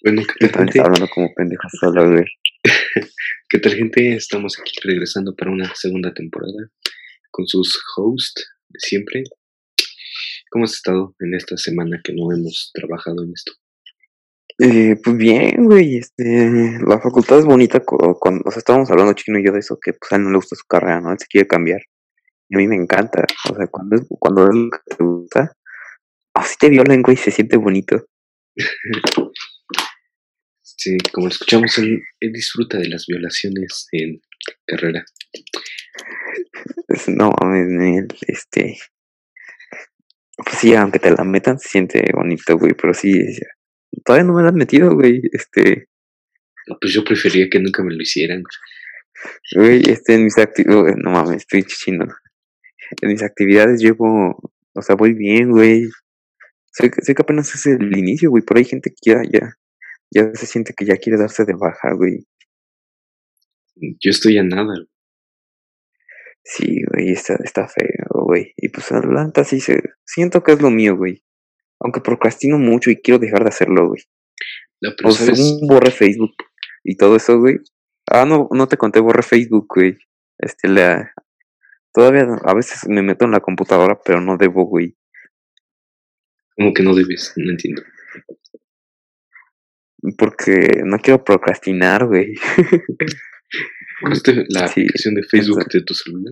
Bueno, ¿qué tal, gente? Hablando como pendejo solo, güey. ¿Qué tal, gente? Estamos aquí regresando para una segunda temporada con sus hosts de siempre. ¿Cómo has estado en esta semana que no hemos trabajado en esto? Pues bien, güey, la facultad es bonita cuando, o sea, estábamos hablando Chino y yo de eso, que pues a él no le gusta su carrera, ¿no? Él se quiere cambiar. Y a mí me encanta, o sea, cuando es lo que te gusta, así te violan, güey, se siente bonito. Sí, como lo escuchamos, él disfruta de las violaciones en carrera. No mames, pues sí, aunque te la metan, se siente bonito, güey, pero sí, todavía no me la han metido, güey, Pues yo prefería que nunca me lo hicieran. güey, en mis actividades, no mames, estoy chino. En mis actividades o sea, voy bien, güey. Sé que apenas es el inicio, güey, pero hay gente que ya se siente que ya quiere darse de baja, güey. Yo estoy a nada. Sí, güey, está feo, güey. Y pues adelante, siento que es lo mío, güey. Aunque procrastino mucho y quiero dejar de hacerlo, güey. No, pero O sea, ¿sabes? según borré Facebook y todo eso, güey. No te conté, borré Facebook, güey. Este, la, Todavía a veces me meto en la computadora, pero no debo, güey. Como que no debes, no entiendo. Porque no quiero procrastinar, güey. ¿Borraste la Sí, aplicación de Facebook de tu celular?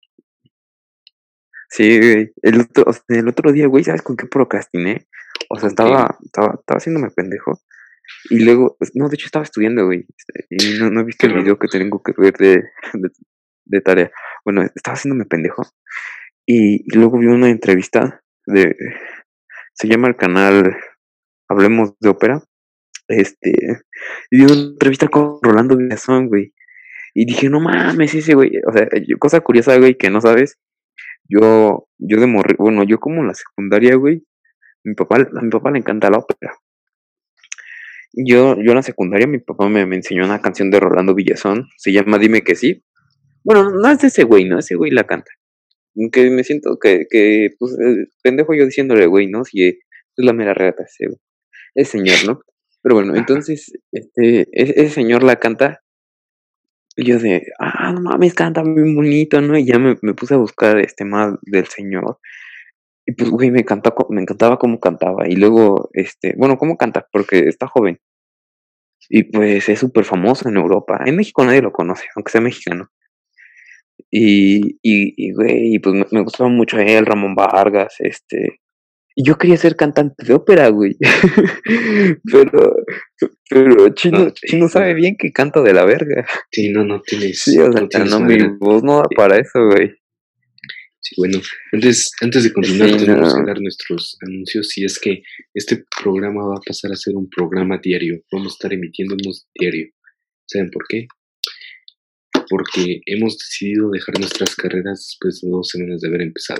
sí, güey. El otro día, güey, ¿sabes con qué procrastiné? O sea, ¿Con qué? estaba haciéndome pendejo. Y luego, no, de hecho estaba estudiando, güey. Y no he visto Qué el raro. video que tengo que ver de, de tarea. Bueno, estaba haciéndome pendejo. Y luego vi una entrevista se llama el canal Hablemos de Ópera. Y vi una entrevista con Rolando Villazón, güey. Y dije, no mames, ese güey. O sea, cosa curiosa, güey, que no sabes. Yo de morrer, bueno, yo como en la secundaria, güey, a mi papá le encanta la ópera. Yo en la secundaria, mi papá me enseñó una canción de Rolando Villazón, se llama Dime que sí. Bueno, no es de ese güey, ¿no? Ese güey la canta. Que me siento pues, pendejo yo diciéndole, güey, ¿no? Si es la mera reata ese señor, ¿no? Pero bueno, entonces, ese señor la canta, y yo no mames, canta muy bonito, ¿no? Y ya me puse a buscar, más del señor. Y pues, güey, me encantaba cómo cantaba. Y luego, bueno, cómo canta, porque está joven. Y pues es súper famoso en Europa. En México nadie lo conoce, aunque sea mexicano. Güey, pues me gustaba mucho él, Ramón Vargas, y yo quería ser cantante de ópera, güey. pero, pero Ah, Chino no, sabe bien que canto de la verga. sí, no Sí, o no sea, tienes no, mi madera. voz no da para eso, güey. Sí, bueno, antes de continuar Sí, tenemos que no. dar nuestros anuncios y es que este programa va a pasar a ser un programa diario. Vamos a estar emitiéndonos diario. ¿Saben por qué? Porque hemos decidido dejar nuestras carreras después de 2 semanas de haber empezado.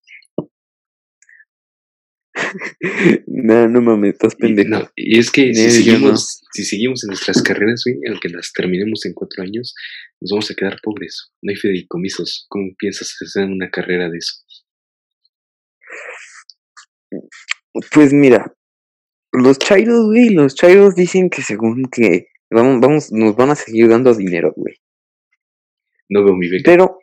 No mames, estás pendejo. Y es que Yo no. si seguimos en nuestras carreras, güey, aunque las terminemos en 4 años, nos vamos a quedar pobres. No hay fideicomisos. ¿Cómo piensas hacer una carrera de eso? Pues mira, los chairos dicen que según que nos van a seguir dando dinero, güey. No veo mi beca. Pero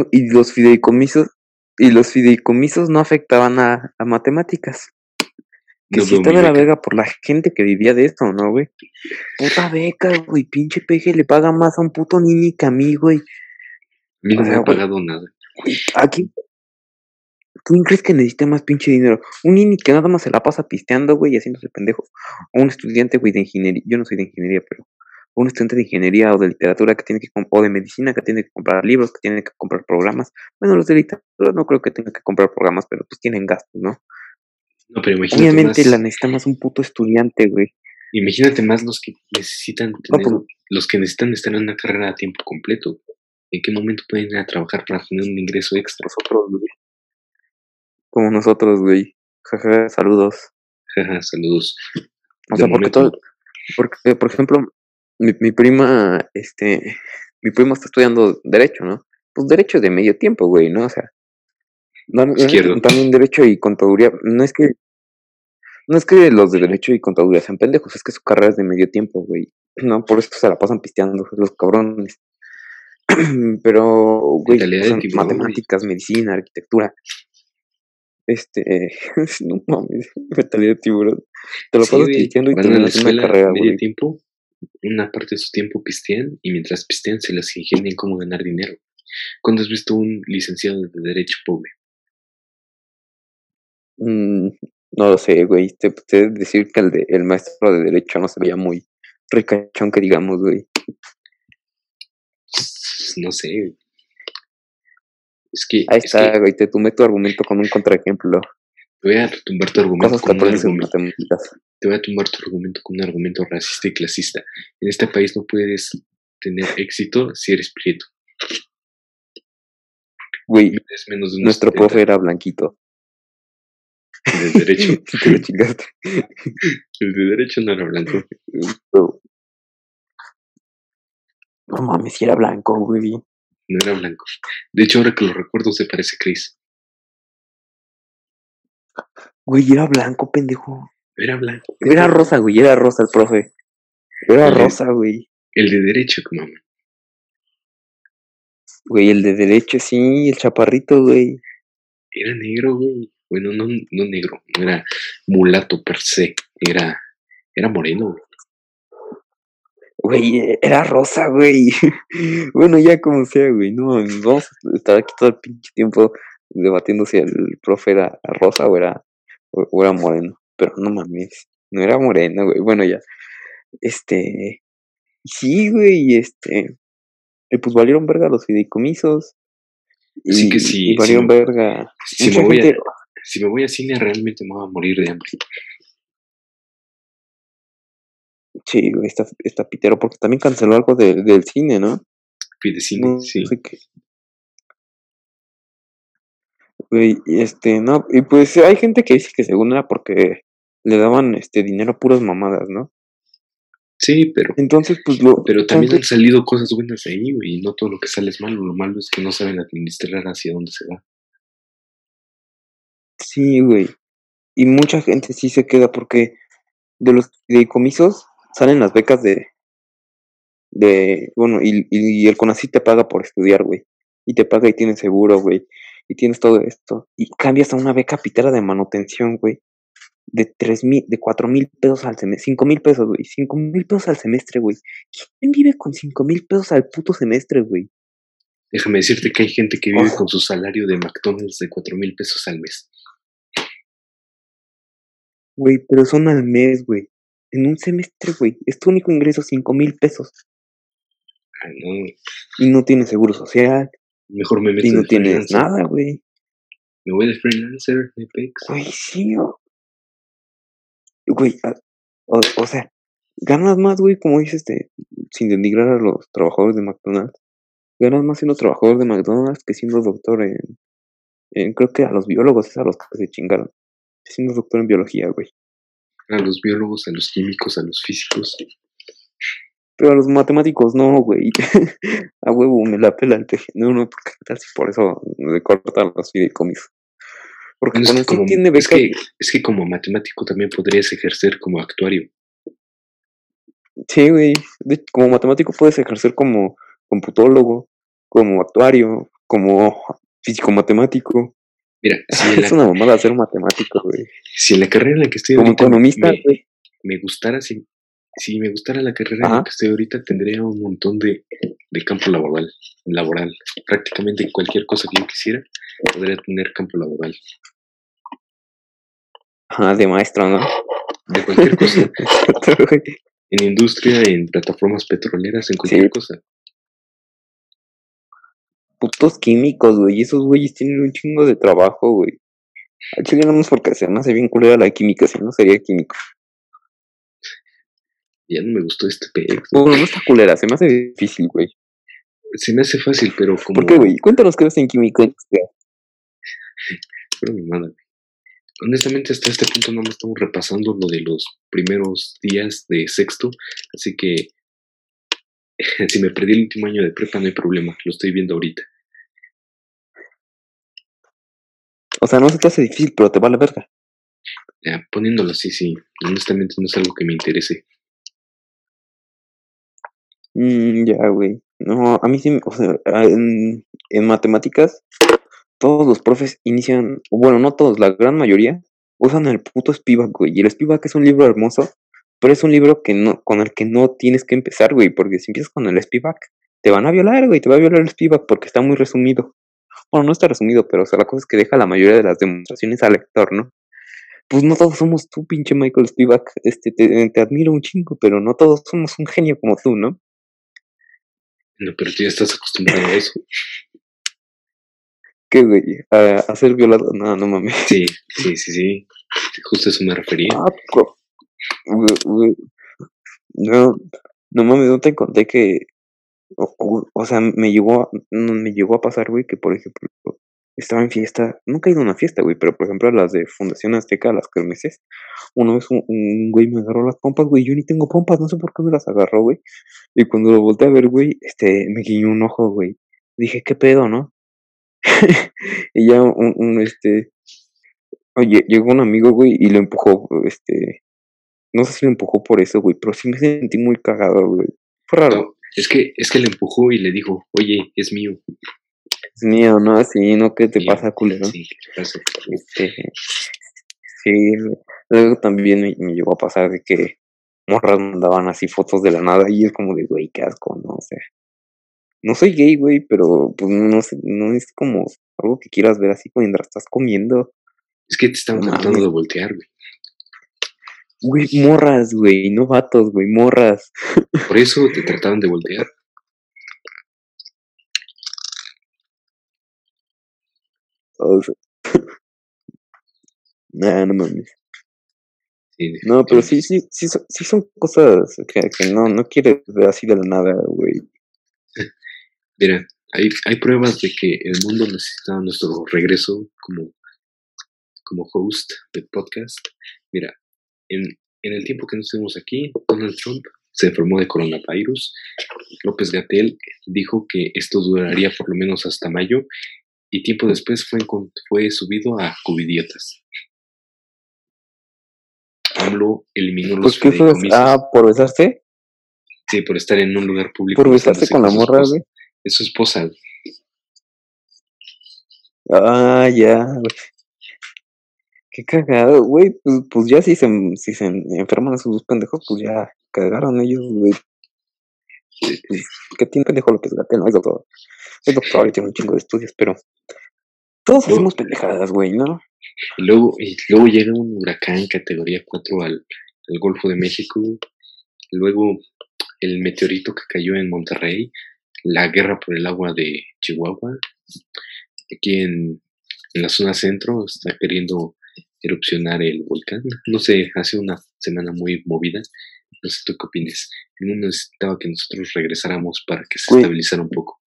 y los fideicomisos no afectaban a matemáticas. Que No sí veo está mi de la beca. verga por la gente que vivía de esto, ¿no, güey? Puta beca, güey, pinche peje le paga más a un puto niño que a mí, güey. A mí no O me sea, ha güey, pagado nada. aquí, ¿quién crees que necesita más pinche dinero? Un niño que nada más se la pasa pisteando, güey, y haciéndose pendejo. O un estudiante, güey, de ingeniería. Yo no soy de ingeniería, pero un estudiante de ingeniería o de literatura o de medicina que tiene que comprar libros, que tiene que comprar programas. Bueno, los de literatura no creo que tengan que comprar programas, pero pues tienen gastos, ¿no? No, pero Obviamente la necesita más un puto estudiante, güey. imagínate más los que necesitan No, pues los que necesitan estar en una carrera a tiempo completo. ¿En qué momento pueden ir a trabajar para tener un ingreso extra? nosotros, güey. Como nosotros, güey. Jaja, saludos. Jaja, saludos. O De sea, momento no. porque, por ejemplo, mi prima, mi prima está estudiando Derecho, ¿no? Pues Derecho de medio tiempo, güey, ¿no? O sea, la neta, Izquierdo. también Derecho y Contaduría, no es que, No es que los de Derecho y Contaduría sean pendejos, es que su carrera es de medio tiempo, güey. No, por eso se la pasan pisteando los cabrones. Pero, güey, Mentalidad de son tiburón, güey. matemáticas, medicina, arquitectura. No mames, mentalidad de tiburón. Te lo Sí, pasas güey, pisteando y van a la terminas una escuela carrera, medio güey. tiempo, una parte de su tiempo pistean y mientras pistean se las ingenian cómo ganar dinero. ¿Cuándo has visto un licenciado de Derecho pobre? No lo sé, güey. Te puedo decir que el maestro de Derecho no se veía muy ricachón, que digamos, güey. No sé, güey. Ahí está, güey. Te tumbé tu argumento con un contraejemplo. Te voy a tumbar tu argumento Cosas que con un aprendes en argumento. matemáticas. Te voy a tumbar tu argumento con un argumento racista y clasista. En este país no puedes tener éxito si eres prieto. Güey, Mides menos de unos nuestro 70. profe era blanquito. El de Derecho. Te lo chingaste. El de Derecho no era blanco. No mames, si era blanco, güey. No era blanco. De hecho, ahora que lo recuerdo, se parece a Chris. Güey, era blanco, pendejo. Era blanco. Era rosa, güey. Era rosa el profe. Era rosa, güey. El de Derecho, mamá. Güey, el de Derecho, sí. El chaparrito, güey. Era negro, güey. Bueno, no negro. No era mulato per se. Era moreno, güey. Güey, era rosa, güey. Bueno, ya como sea, güey. No, vamos a estar aquí todo el pinche tiempo debatiendo si el profe era rosa o era moreno. Pero no mames, no era moreno, güey. Bueno, ya. Sí, güey, y pues valieron verga los fideicomisos. Así que Y valieron verga. Mucha gente. Si me voy a cine, realmente me voy a morir de hambre. Sí, güey, está pitero, porque también canceló algo del cine, ¿no? Pide cine, No sí. sé qué. Güey, no, y pues hay gente que dice que según era porque le daban dinero a puras mamadas, ¿no? Sí, pero. Entonces, pues Pero también han salido cosas buenas ahí, güey. Y no todo lo que sale es malo. Lo malo es que no saben administrar hacia dónde se va. Sí, güey. Y mucha gente sí se queda porque de los fideicomisos salen las becas bueno, y el CONACYT te paga por estudiar, güey. Y te paga y tienes seguro, güey. Y tienes todo esto. Y cambias a una beca pitera de manutención, güey. De 4,000 pesos al semestre, 5,000 pesos, güey, 5,000 pesos al semestre, güey. ¿Quién vive con 5,000 pesos al puto semestre, güey? Déjame decirte que hay gente que vive con su salario de McDonald's de 4,000 pesos al mes. Güey, pero son al mes, güey. En un semestre, güey. Es tu único ingreso, 5,000 pesos. Ay, no. Y no tienes seguro social. Mejor me meto y no de tienes freelancer. nada, güey. Me voy de freelancer, me pex. Güey, sí, güey, o sea, ganas más, güey, como dices, sin denigrar a los trabajadores de McDonald's. Ganas más siendo trabajador de McDonald's que siendo doctor creo que a los biólogos es a los que se chingaron. Siendo doctor en biología, güey. A los biólogos, a los químicos, a los físicos. Pero a los matemáticos no, güey. A huevo, me la pela el teje. No, porque tal si por eso le cortan los fideicomisos. Porque Bueno, cuando sí tiene becas. Es que como matemático también podrías ejercer como actuario. Sí, güey. Como matemático puedes ejercer como computólogo, como actuario, como físico-matemático. Mira, es una mamada ser matemático, güey. Si en la carrera en la que estoy como ahorita economista, me gustara, si me gustara la carrera en la que estoy ahorita, tendría un montón de campo laboral. Prácticamente cualquier cosa que yo quisiera, podría tener campo laboral. Ajá, de maestro, ¿no? De cualquier cosa. En industria, en plataformas petroleras, en cualquier cosa. Putos químicos, güey. Esos güeyes tienen un chingo de trabajo, güey. A Chile no es porque se me hace bien culera la química, si no sería químico. Ya no me gustó este pedo. Bueno, no está culera, se me hace difícil, güey. Se me hace fácil, pero como... ¿Por qué, güey? Cuéntanos qué ves en química. Pero mamada. Honestamente, hasta este punto no estamos repasando lo de los primeros días de sexto, así que si me perdí el último año de prepa no hay problema, lo estoy viendo ahorita. O sea, no se te hace difícil, pero te vale verga. Ya, poniéndolo así, sí. Honestamente no es algo que me interese. Ya, güey. No, a mí sí, o sea, en matemáticas, todos los profes inician, o bueno, no todos, la gran mayoría, usan el puto Spivak, güey. Y el Spivak es un libro hermoso, pero es un libro que no, con el que no tienes que empezar, güey, porque si empiezas con el Spivak, te van a violar, güey, te va a violar el Spivak porque está muy resumido. Bueno, no está resumido, pero o sea, la cosa es que deja la mayoría de las demostraciones al lector, ¿no? Pues no todos somos tú, pinche Michael Spivak. Te admiro un chingo, pero no todos somos un genio como tú, ¿no? No, pero tú ya estás acostumbrado a eso. ¿Qué, güey? ¿A ser violado? No, no mames. Sí. Justo a eso me refería. Güey, no, no mames, no te conté que, o sea, me llegó a pasar, güey, que por ejemplo, estaba en fiesta, nunca he ido a una fiesta, güey, pero por ejemplo a las de Fundación Azteca, las kermeses, una vez un güey me agarró las pompas, güey, yo ni tengo pompas, no sé por qué me las agarró, güey, y cuando lo volteé a ver, güey, me guiñó un ojo, güey, dije, ¿qué pedo, no? Y ya oye, llegó un amigo, güey, y lo empujó, no sé si lo empujó por eso, güey, pero sí me sentí muy cagado, güey, fue raro. No, es que le empujó y le dijo, oye, es mío. Es mío, ¿no? Así, ¿no? ¿Qué te Mío. pasa, culero? Sí, ¿qué te pasa? Sí, luego también me llegó a pasar de que morras mandaban así fotos de la nada y es como de, güey, qué asco, ¿no? O sea, no soy gay, güey, pero pues no sé, no es como algo que quieras ver así mientras estás comiendo. Es que te estaban No tratando mames. de voltear, güey. Güey, morras, güey, no vatos, güey, morras. Por eso te trataban de voltear. O sea, nah, no mames. Sí, No, pero definitivamente. sí son cosas que no quieres ver así de la nada, güey. Mira, hay pruebas de que el mundo necesita nuestro regreso como host de podcast. Mira, en el tiempo que no estuvimos aquí, Donald Trump se enfermó de coronavirus. López Gatell dijo que esto duraría por lo menos hasta mayo y tiempo después fue subido a Covidiotas. AMLO eliminó los Pues que eso es, fideicomisos. por besarse, Sí, por estar en un lugar público por besarse besándose con la con su morra, esposa. güey. Es su esposa. Ya, güey. Qué cagado, güey. Pues ya si se enferman esos dos pendejos, pues ya cagaron ellos, güey. Pues, ¿qué tiene pendejo López Gatell? No es doctor. Es doctor y tiene un chingo de estudios, pero todos Luego, hacemos pendejadas, güey, ¿no? y luego llega un huracán categoría 4 al Golfo de México. Luego el meteorito que cayó en Monterrey. La guerra por el agua de Chihuahua. Aquí en la zona centro está queriendo erupcionar el volcán. No sé, hace una semana muy movida. No sé tú qué opinas. El mundo necesitaba que nosotros regresáramos para que se Güey, estabilizara un poco.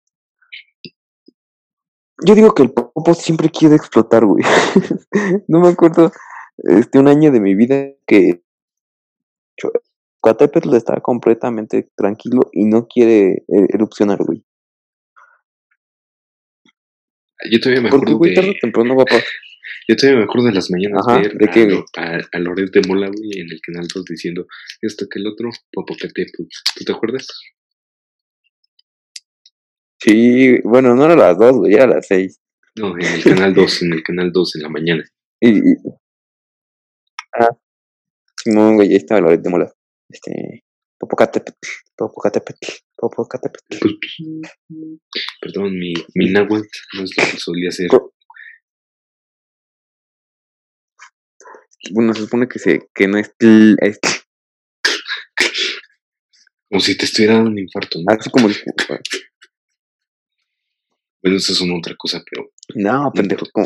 yo digo que el popo siempre quiere explotar, güey. No me acuerdo, un año de mi vida que Catepetl está completamente tranquilo y no quiere erupcionar, güey. Yo todavía me Porque, acuerdo güey, tarde o temprano va a pasar. yo todavía me acuerdo de las mañanas Ajá, ver ¿de qué, güey? a Loret de Mola, güey, en el canal 2 diciendo esto que el otro, Popocatépetl. ¿Tú te acuerdas? Sí, bueno, no era las 2, güey, era las 6. No, en el canal 2, en la mañana. Y ah, Simón, güey, ahí estaba Loret de Mola. Popocatépetl, Popocatépetl, Popocatépetl. Pues, perdón, mi náhuatl no es lo que solía hacer. Bueno, se supone que no es Como si te estuviera dando un infarto, ¿no? así como el. Bueno, eso es una otra cosa, pero No, no pendejo, importa. como.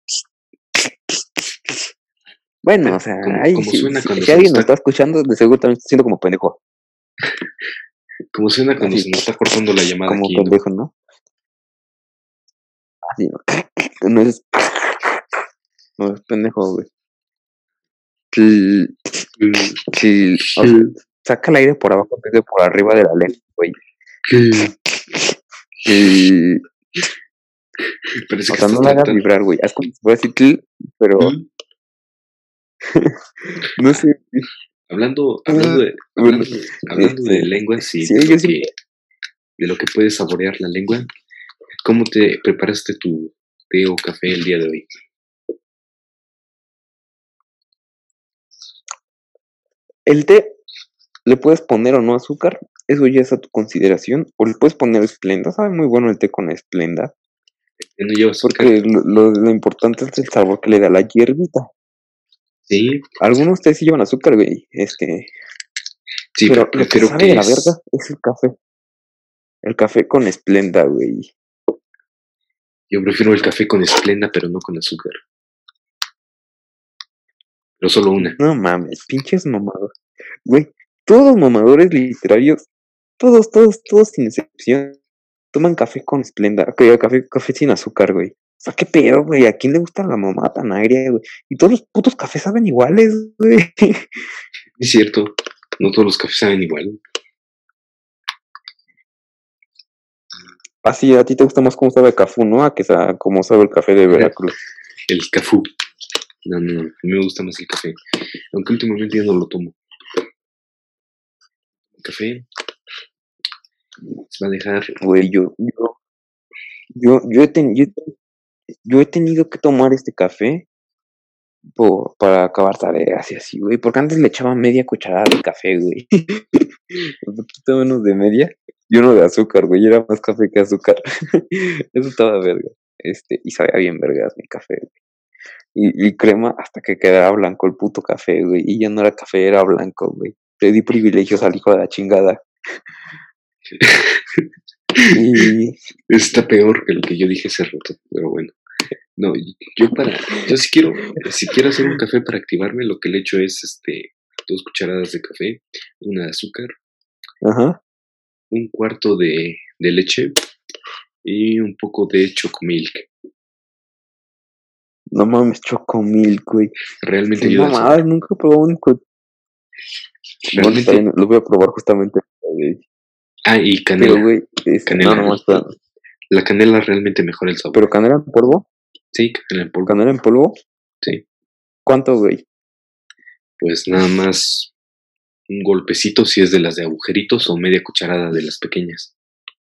Bueno, o sea, ahí Como suena cuando si se nos alguien nos está, está escuchando, de seguro también está siendo como pendejo. como suena cuando Así, se nos está cortando la llamada como aquí, ¿no? pendejo, ¿no? Así, ¿no? No es. No es pendejo, güey. O sea, saca el aire por abajo en vez de por arriba de la lengua, güey. Parece O que sea, estás no la hagas tratando. vibrar, güey. Haz como si fuera así, pero No sé. Hablando Bueno, de lenguas y sí, de yo siempre, lo que puede saborear la lengua, ¿cómo te preparaste tu té o café el día de hoy? el té le puedes poner o no azúcar, eso ya es a tu consideración, o le puedes poner esplenda, sabe muy bueno el té con esplenda, ¿Ya no lleva azúcar? porque lo importante es el sabor que le da la hierbita. Sí, Algunos tés sí llevan azúcar, güey, sí, pero pero lo que prefiero sabe que de la verga es el café con esplenda, güey. yo prefiero el café con esplenda, pero no con azúcar. Pero solo una. No mames, pinches mamados. Güey, todos los mamadores literarios, todos sin excepción, toman café con esplenda, café sin azúcar, güey. O sea, qué pedo, güey. ¿A quién le gusta la mamá tan agria, güey? Y todos los putos cafés saben iguales, güey. Es cierto, no todos los cafés saben igual. Así, a ti te gusta más cómo sabe el café, ¿no? A que cómo sabe el café de Veracruz. El cafú. No, a mí me gusta más el café. Aunque últimamente ya no lo tomo. El café se va a dejar. Güey, yo he tenido que tomar este café para acabar tareas y así, güey. Porque antes le echaba media cucharada de café, güey. Un poquito menos de media. Y uno de azúcar, güey. Era más café que azúcar. Eso estaba verga. Y sabía bien vergas mi café, güey. Y crema hasta que quedara blanco el puto café, güey. Y ya no era café, era blanco, güey. Le di privilegios al hijo de la chingada. Y Está peor que lo que yo dije hace rato, pero bueno. No, yo si quiero hacer un café para activarme, lo que le echo es 2 cucharadas de café, una de azúcar, ajá. un cuarto de leche y un poco de chocomilk. No mames, chocomilk, güey. Realmente Qué ayuda al mamada, sabor. nunca he probado un. Bueno, está Realmente. bien, lo voy a probar justamente, güey. Ah, y Pero, canela. güey, Canela. no, espera. La canela realmente mejora el sabor. ¿Pero canela en polvo? Sí, canela en polvo. ¿Canela en polvo? Sí. ¿Cuánto, güey? Pues nada más un golpecito si es de las de agujeritos o media cucharada de las pequeñas.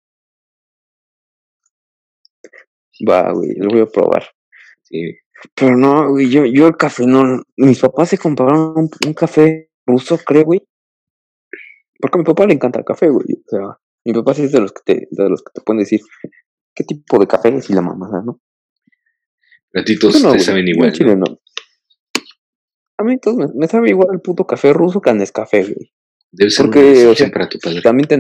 Va, güey, lo voy a probar. Sí. Pero no, güey, yo el café no. Mis papás se compraron un café ruso, creo, güey. Porque a mi papá le encanta el café, güey. O sea, mi papá sí es de los que te pueden decir qué tipo de café es y la mamada, ¿no? Ratitos Yo no, te güey. saben Yo igual, en Chile ¿no? no. A mí entonces me sabe igual el puto café ruso que a Nescafé, güey. Debe ser una Porque, o decepción sea, para tu padre. también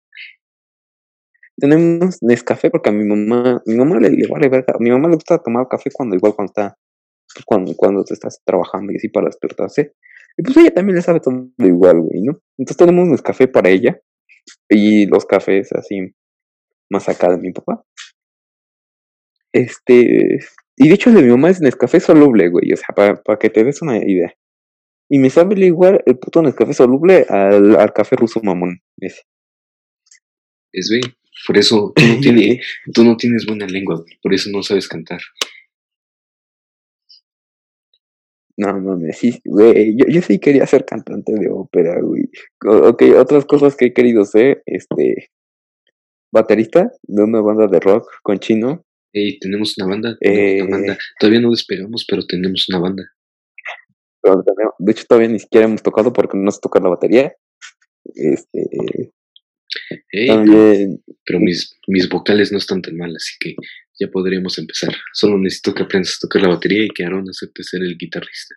tenemos Nescafé porque a mi mamá le vale verga. A mi mamá le gusta tomar café cuando está, pues, cuando te estás trabajando y así para despertarse. Y pues ella también le sabe todo igual, güey, ¿no? Entonces tenemos Nescafé para ella y los cafés así más acá de mi papá. Y de hecho el de mi mamá es Nescafé soluble, güey, o sea, para que te des una idea. Y me sabe igual el puto Nescafé soluble al café ruso mamón, ese. Es güey. Por eso tú no tienes buena lengua, güey. Por eso no sabes cantar. No mames, sí, güey, yo sí quería ser cantante de ópera, güey. Ok, otras cosas que he querido ser, baterista de una banda de rock con chino. Hey, tenemos una banda. Todavía no despegamos, pero tenemos una banda. Pero de hecho todavía ni siquiera hemos tocado porque no sé tocar la batería. Este, Hey, también, pero mis vocales no están tan mal, así que ya podríamos empezar. Solo necesito que aprendas a tocar la batería y que Aaron acepte ser el guitarrista.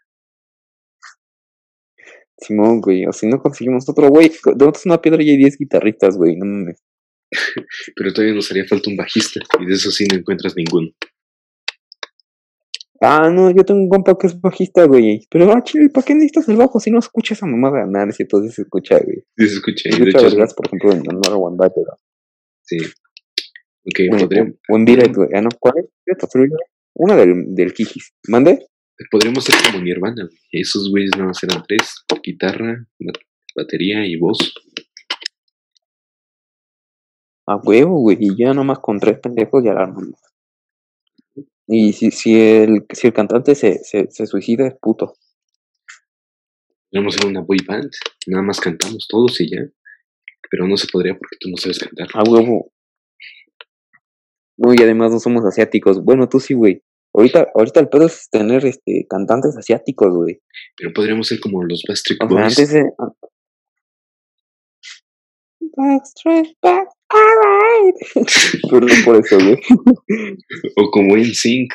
Simón, güey, o si no conseguimos otro, güey, de una piedra y hay 10 guitarristas, güey, no mames. Pero todavía nos haría falta un bajista, y de eso sí no encuentras ninguno. Ah, no, yo tengo un compa que es bajista, güey. Pero, chile, ¿para qué necesitas el bajo si no escuchas esa mamada? Nada, si entonces se escucha, güey. Sí, se escucha, Se y de escucha hecho vergas, por ejemplo, en Manuel Wanda, pero. sí. Ok, O en Direct, güey. Ah, no, ¿cuál es? Una del Kijis. ¿Mande? podríamos ser como Nirvana, güey. Esos güeyes nada más eran 3: guitarra, batería y voz. A huevo, güey. Y ya nomás con 3 pendejos ya la armamos. Y si el cantante se suicida, es puto. Podríamos hacer una boy band, nada más cantamos todos y ya. Pero no se podría porque tú no sabes cantar. A huevo. No, y además no somos asiáticos. Bueno, tú sí, güey. Ahorita el pedo es tener cantantes asiáticos, güey. Pero podríamos ser como los Backstreet O sea, Boys. antes de. Backstreet Back, alright. Perdón por eso, güey. O como NSYNC.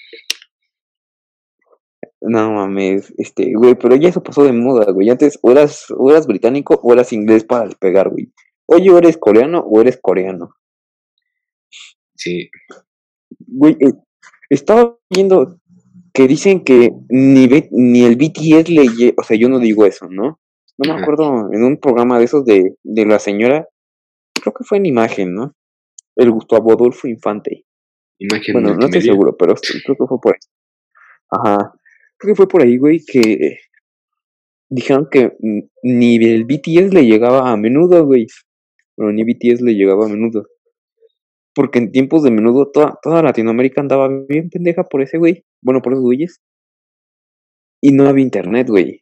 No mames, güey, pero ya eso pasó de moda, güey. Antes o eras británico o eras inglés para despegar, güey. Oye, o eres coreano o eres coreano. Sí. Güey, estaba viendo que dicen que ni el BTS o sea, yo no digo eso, ¿no? No me Ajá. acuerdo, en un programa de esos de la señora, creo que fue en Imagen, ¿no? El Gustavo Adolfo Infante. Imagen Bueno, no estoy multimedia. seguro, pero creo que fue por ahí. Ajá. Creo que fue por ahí, güey, que dijeron que ni el BTS le llegaba a Menudo, güey. Bueno, ni BTS le llegaba a Menudo. Porque en tiempos de Menudo toda Latinoamérica andaba bien pendeja por ese güey. Bueno, por esos güeyes. Y no había internet, güey.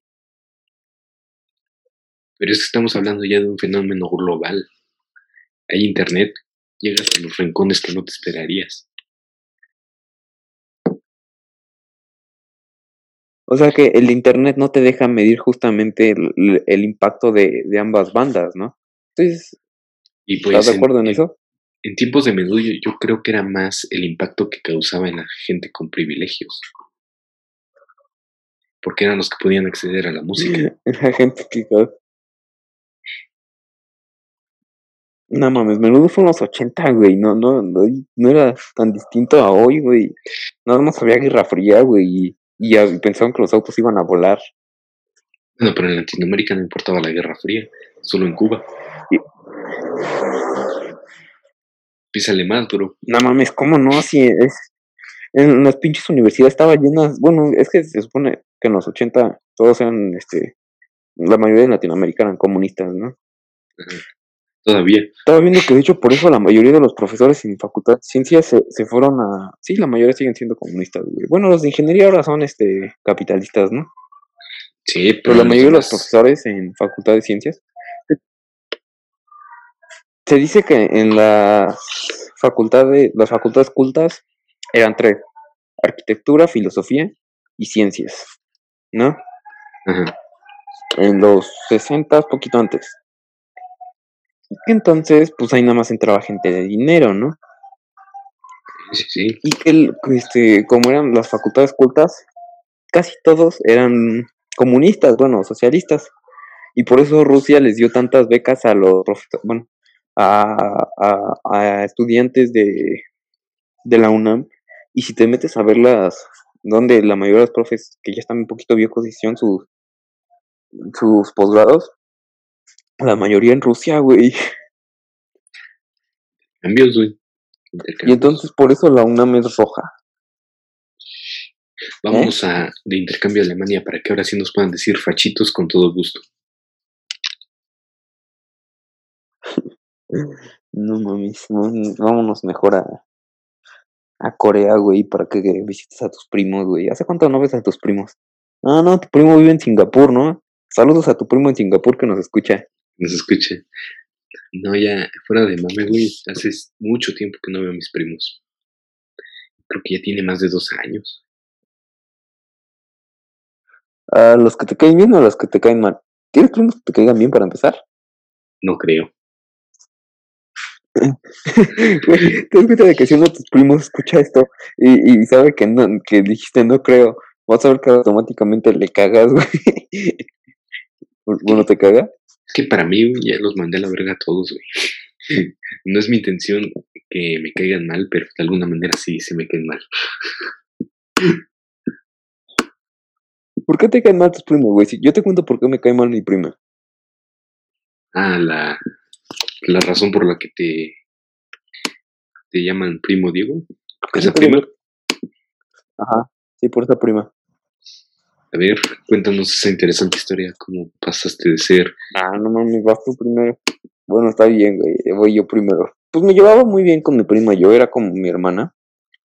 Pero es que estamos hablando ya de un fenómeno global. Hay internet, llegas a los rincones que no te esperarías. O sea que el internet no te deja medir justamente el impacto de ambas bandas, ¿no? Entonces, Y ¿estás pues de acuerdo en eso? en tiempos de Menudo yo creo que era más el impacto que causaba en la gente con privilegios. Porque eran los que podían acceder a la música. La gente que... No mames, Menudo fue en los 80, güey. No era tan distinto a hoy, güey. Nada más había Guerra Fría, güey. Y pensaban que los autos iban a volar. Bueno, pero en Latinoamérica no importaba la Guerra Fría, solo en Cuba. Písale más, bro. No mames, ¿cómo no? Si es... En las pinches universidades estaba llenas... Bueno, es que se supone que en los 80 todos eran, la mayoría de Latinoamérica eran comunistas, ¿no? Ajá. Todavía. Estaba viendo que de hecho por eso la mayoría de los profesores en facultad de ciencias se fueron a... Sí, la mayoría siguen siendo comunistas, güey. Bueno, los de ingeniería ahora son capitalistas, ¿no? Sí, Pero pero la los mayoría de los demás. profesores en facultad de ciencias se dice que en las facultades cultas eran tres: arquitectura, filosofía y ciencias, ¿no? Ajá. En los 60, poquito antes. Entonces, pues ahí nada más entraba gente de dinero, ¿no? Sí, sí. Y que como eran las facultades cultas, casi todos eran comunistas, bueno, socialistas. Y por eso Rusia les dio tantas becas a los bueno, a estudiantes de la UNAM. Y si te metes a verlas, donde la mayoría de los profes que ya están un poquito viejos hicieron sus posgrados, la mayoría en Rusia, güey. Cambios, güey. Y entonces por eso la UNAM es roja. Vámonos de intercambio a Alemania para que ahora sí nos puedan decir fachitos con todo gusto. No mames, vámonos mejor a Corea, güey, para que visites a tus primos, güey. ¿Hace cuánto no ves a tus primos? Ah, no, tu primo vive en Singapur, ¿no? Saludos a tu primo en Singapur que nos escucha. Nos escuche. No, ya fuera de mame, güey. Hace mucho tiempo que no veo a mis primos. Creo que ya tiene más de 2 años. ¿A los que te caen bien o a los que te caen mal? ¿Tienes primos que te caigan bien para empezar? No creo. Güey, te das cuenta de que si uno de tus primos escucha esto y sabe que no, que dijiste no creo, vas a ver que automáticamente le cagas, güey. Bueno, ¿te caga? Es que para mí güey, ya los mandé a la verga a todos, güey. No es mi intención que me caigan mal, pero de alguna manera sí se me caen mal. ¿Por qué te caen mal tus primos, güey? Si yo te cuento por qué me cae mal mi prima. Ah, la razón por la que te llaman primo Diego. ¿Esa prima? Ajá, sí, por esa prima. A ver, cuéntanos esa interesante historia. ¿Cómo pasaste de ser? Ah, no mames, vas tú primero. Bueno, está bien, güey, voy yo primero. Pues me llevaba muy bien con mi prima, yo era como mi hermana.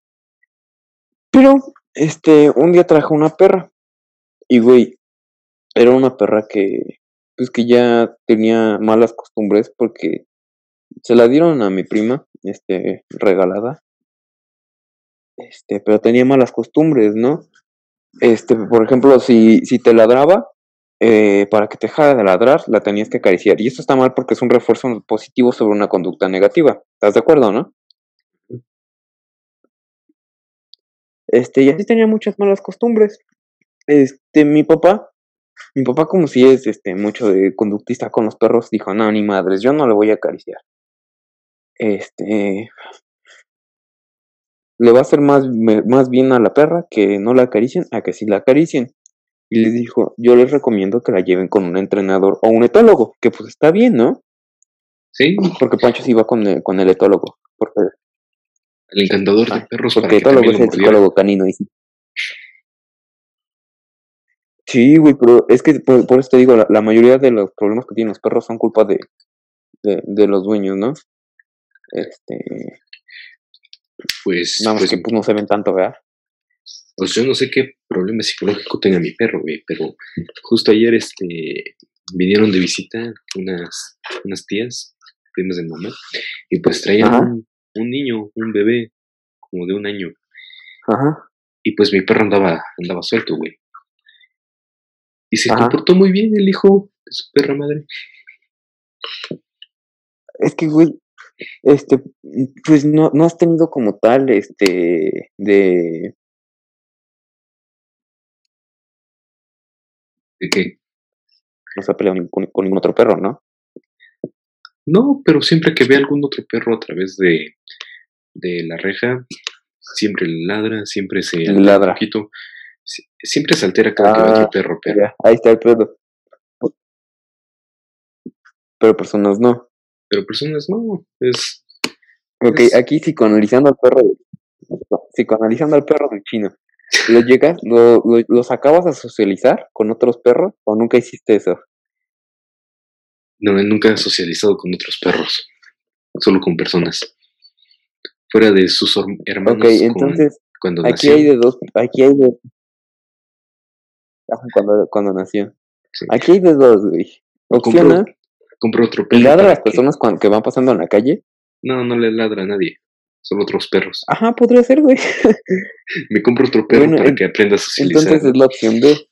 Pero, un día trajo una perra. Y, güey, era una perra pues que ya tenía malas costumbres porque se la dieron a mi prima, regalada, pero tenía malas costumbres, ¿no? Por ejemplo, si te ladraba, para que te dejara de ladrar, la tenías que acariciar. Y esto está mal porque es un refuerzo positivo sobre una conducta negativa. ¿Estás de acuerdo, no? Y así tenía muchas malas costumbres. Mi papá como si es, mucho de conductista con los perros, dijo, no, ni madres, yo no le voy a acariciar. Le va a hacer más bien a la perra que no la acaricien a que sí la acaricien. Y les dijo, yo les recomiendo que la lleven con un entrenador o un etólogo, que pues está bien, ¿no? Sí, Porque Pancho sí iba con el etólogo. el encantador de perros para Porque que etólogo también es lo el mordiera. psicólogo canino. Y sí. Sí, güey, pero es que por eso te digo, la mayoría de los problemas que tienen los perros son culpa de los dueños, ¿no? Nada más que pues no se ven tanto, ¿verdad? Pues yo no sé qué problema psicológico tenga mi perro, güey, pero justo ayer vinieron de visita unas tías, primas de mamá, y pues traían Ajá, un niño, un bebé, como de 1 año, ajá, y pues mi perro andaba suelto, güey. Y se ajá. comportó muy bien el hijo de su perra madre. Es que, güey, pues no has tenido como tal, ¿De qué? no se ha peleado con ningún otro perro, ¿no? No, pero siempre que ve algún otro perro a través de la reja, siempre le ladra, siempre se Le altera un ladra. poquito, siempre se altera cada que ve Ah, otro perro, pero ya, ahí está el pedo. Pero personas no. personas no, Ok, es, aquí psicoanalizando al perro del chino. ¿Lo sacabas a socializar con otros perros o nunca hiciste eso? no, él nunca ha socializado con otros perros, solo con personas. Fuera de sus Ok, hermanos entonces, cuando aquí hay nació, de dos, ajá, cuando nació. sí, Aquí hay de dos, güey. compro, Opción A, compro otro le perro ladra a para las que, personas que van pasando en la calle. no le ladra a nadie, solo otros perros. Ajá, podría ser, güey. Me compro otro perro Bueno, para que aprenda a socializar. entonces es la opción B.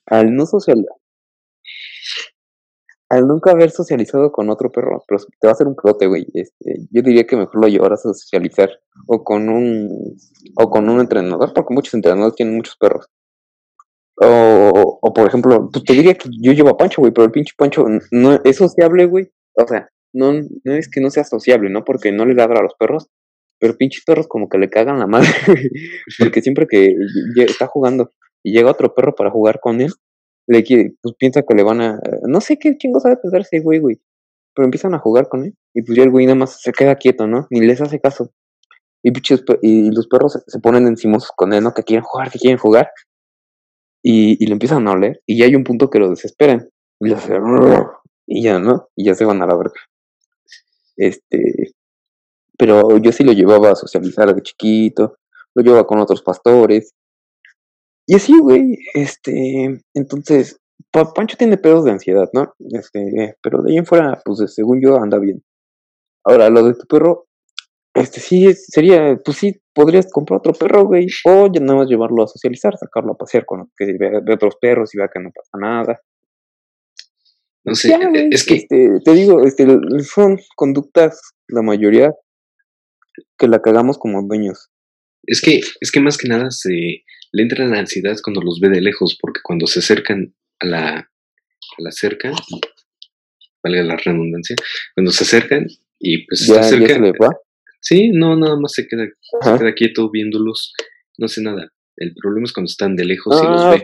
Al nunca haber socializado con otro perro, pero te va a hacer un prote, güey. Yo diría que mejor lo llevaras a socializar o con un entrenador, porque muchos entrenadores tienen muchos perros. O por ejemplo, pues te diría que yo llevo a Pancho, güey, pero el pinche Pancho no es sociable, güey. O sea, no es que no sea sociable, ¿no? Porque no le ladra a los perros, pero pinches perros como que le cagan la madre, güey. Porque siempre que está jugando y llega otro perro para jugar con él, pues piensa que le van a. No sé qué chingo sabe pensar ese güey. Pero empiezan a jugar con él y pues ya el güey nada más se queda quieto, ¿no? Ni les hace caso. Y los perros se ponen encimosos con él, ¿no? Que quieren jugar. Y lo empiezan a oler. Y ya hay un punto que lo desesperan. Y le hace. Y ya, ¿no? Y ya se van a la verga. Este. Pero yo sí lo llevaba a socializar de chiquito. Lo llevaba con otros pastores. Y así, güey. Entonces. Pancho tiene pedos de ansiedad, ¿no? Pero de ahí en fuera, pues según yo, anda bien. Ahora, lo de tu perro, sí, sería, pues sí, podrías comprar otro perro, güey, o ya nada más llevarlo a socializar, sacarlo a pasear que ve otros perros y vea que no pasa nada. No Pues sé, ya, güey, es que, te digo, son conductas, la mayoría, que la cagamos como dueños. es que más que nada le entra la ansiedad cuando los ve de lejos, porque cuando se acercan a la cerca, valga la redundancia, cuando se acercan y pues está Ya se cerca, le va. sí, no, nada más se Ajá. queda quieto viéndolos, no hace nada. El problema es cuando están de lejos y los Ah, ve.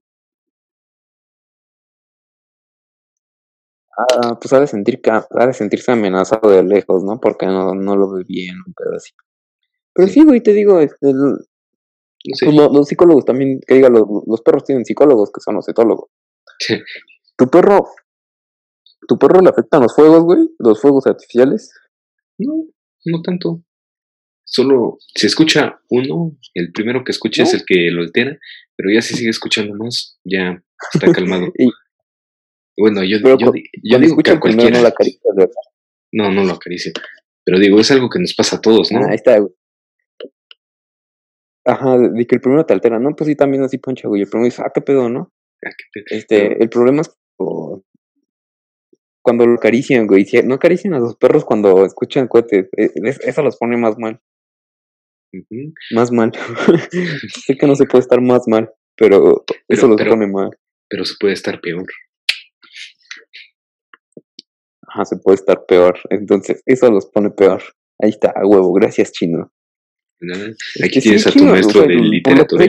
pues ha de sentirse amenazado de lejos, ¿no? Porque no lo ve bien, un pedo así. Pero Sí, sí, güey, te digo, no sé. pues los psicólogos también, que diga, los perros tienen psicólogos que son los etólogos. ¿Tu perro, tu perro le afectan los fuegos, güey? ¿Los fuegos artificiales? No, no tanto. Solo se escucha uno, el primero que escuche es ¿No? el que lo altera, pero ya si sigue escuchando más, ya está calmado. Bueno, yo Pero digo que escucha a el primero cualquiera. no la acaricias, ¿verdad? No lo acaricio. Pero digo, es algo que nos pasa a todos, ¿no? Ahí está, güey. Ajá, de que el primero te altera, ¿no? Pues sí, también así poncha, güey. El primero dice, qué pedo, ¿no? Pero, El problema es cuando lo acarician, güey. No acarician a los perros cuando escuchan cohetes. Eso los pone más mal. ujú, Más mal. Sé que no se puede estar más mal, pero eso los pone mal. pero se puede estar peor. Ajá, se puede estar peor. Entonces, eso los pone peor. Ahí está, a huevo. Gracias, Chino. ¿Verdad? Aquí tienes Sí, a tu Chino, maestro de por lo que literatura.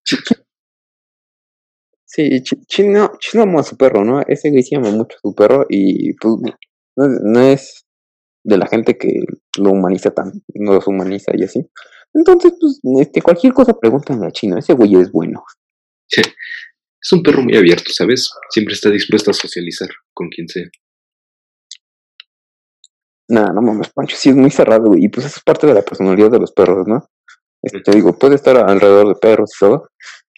sí, Chino ama a su perro, ¿no? Ese güey sí ama mucho a su perro y pues no es de la gente que lo humaniza no los humaniza y así. Entonces, pues, cualquier cosa pregúntale a Chino, ese güey es bueno. Es un perro muy abierto, ¿sabes? Siempre está dispuesto a socializar con quien sea. Nada, no mames, Pancho, sí es muy cerrado, güey. Y pues eso es parte de la personalidad de los perros, ¿no? Digo, puede estar alrededor de perros y todo.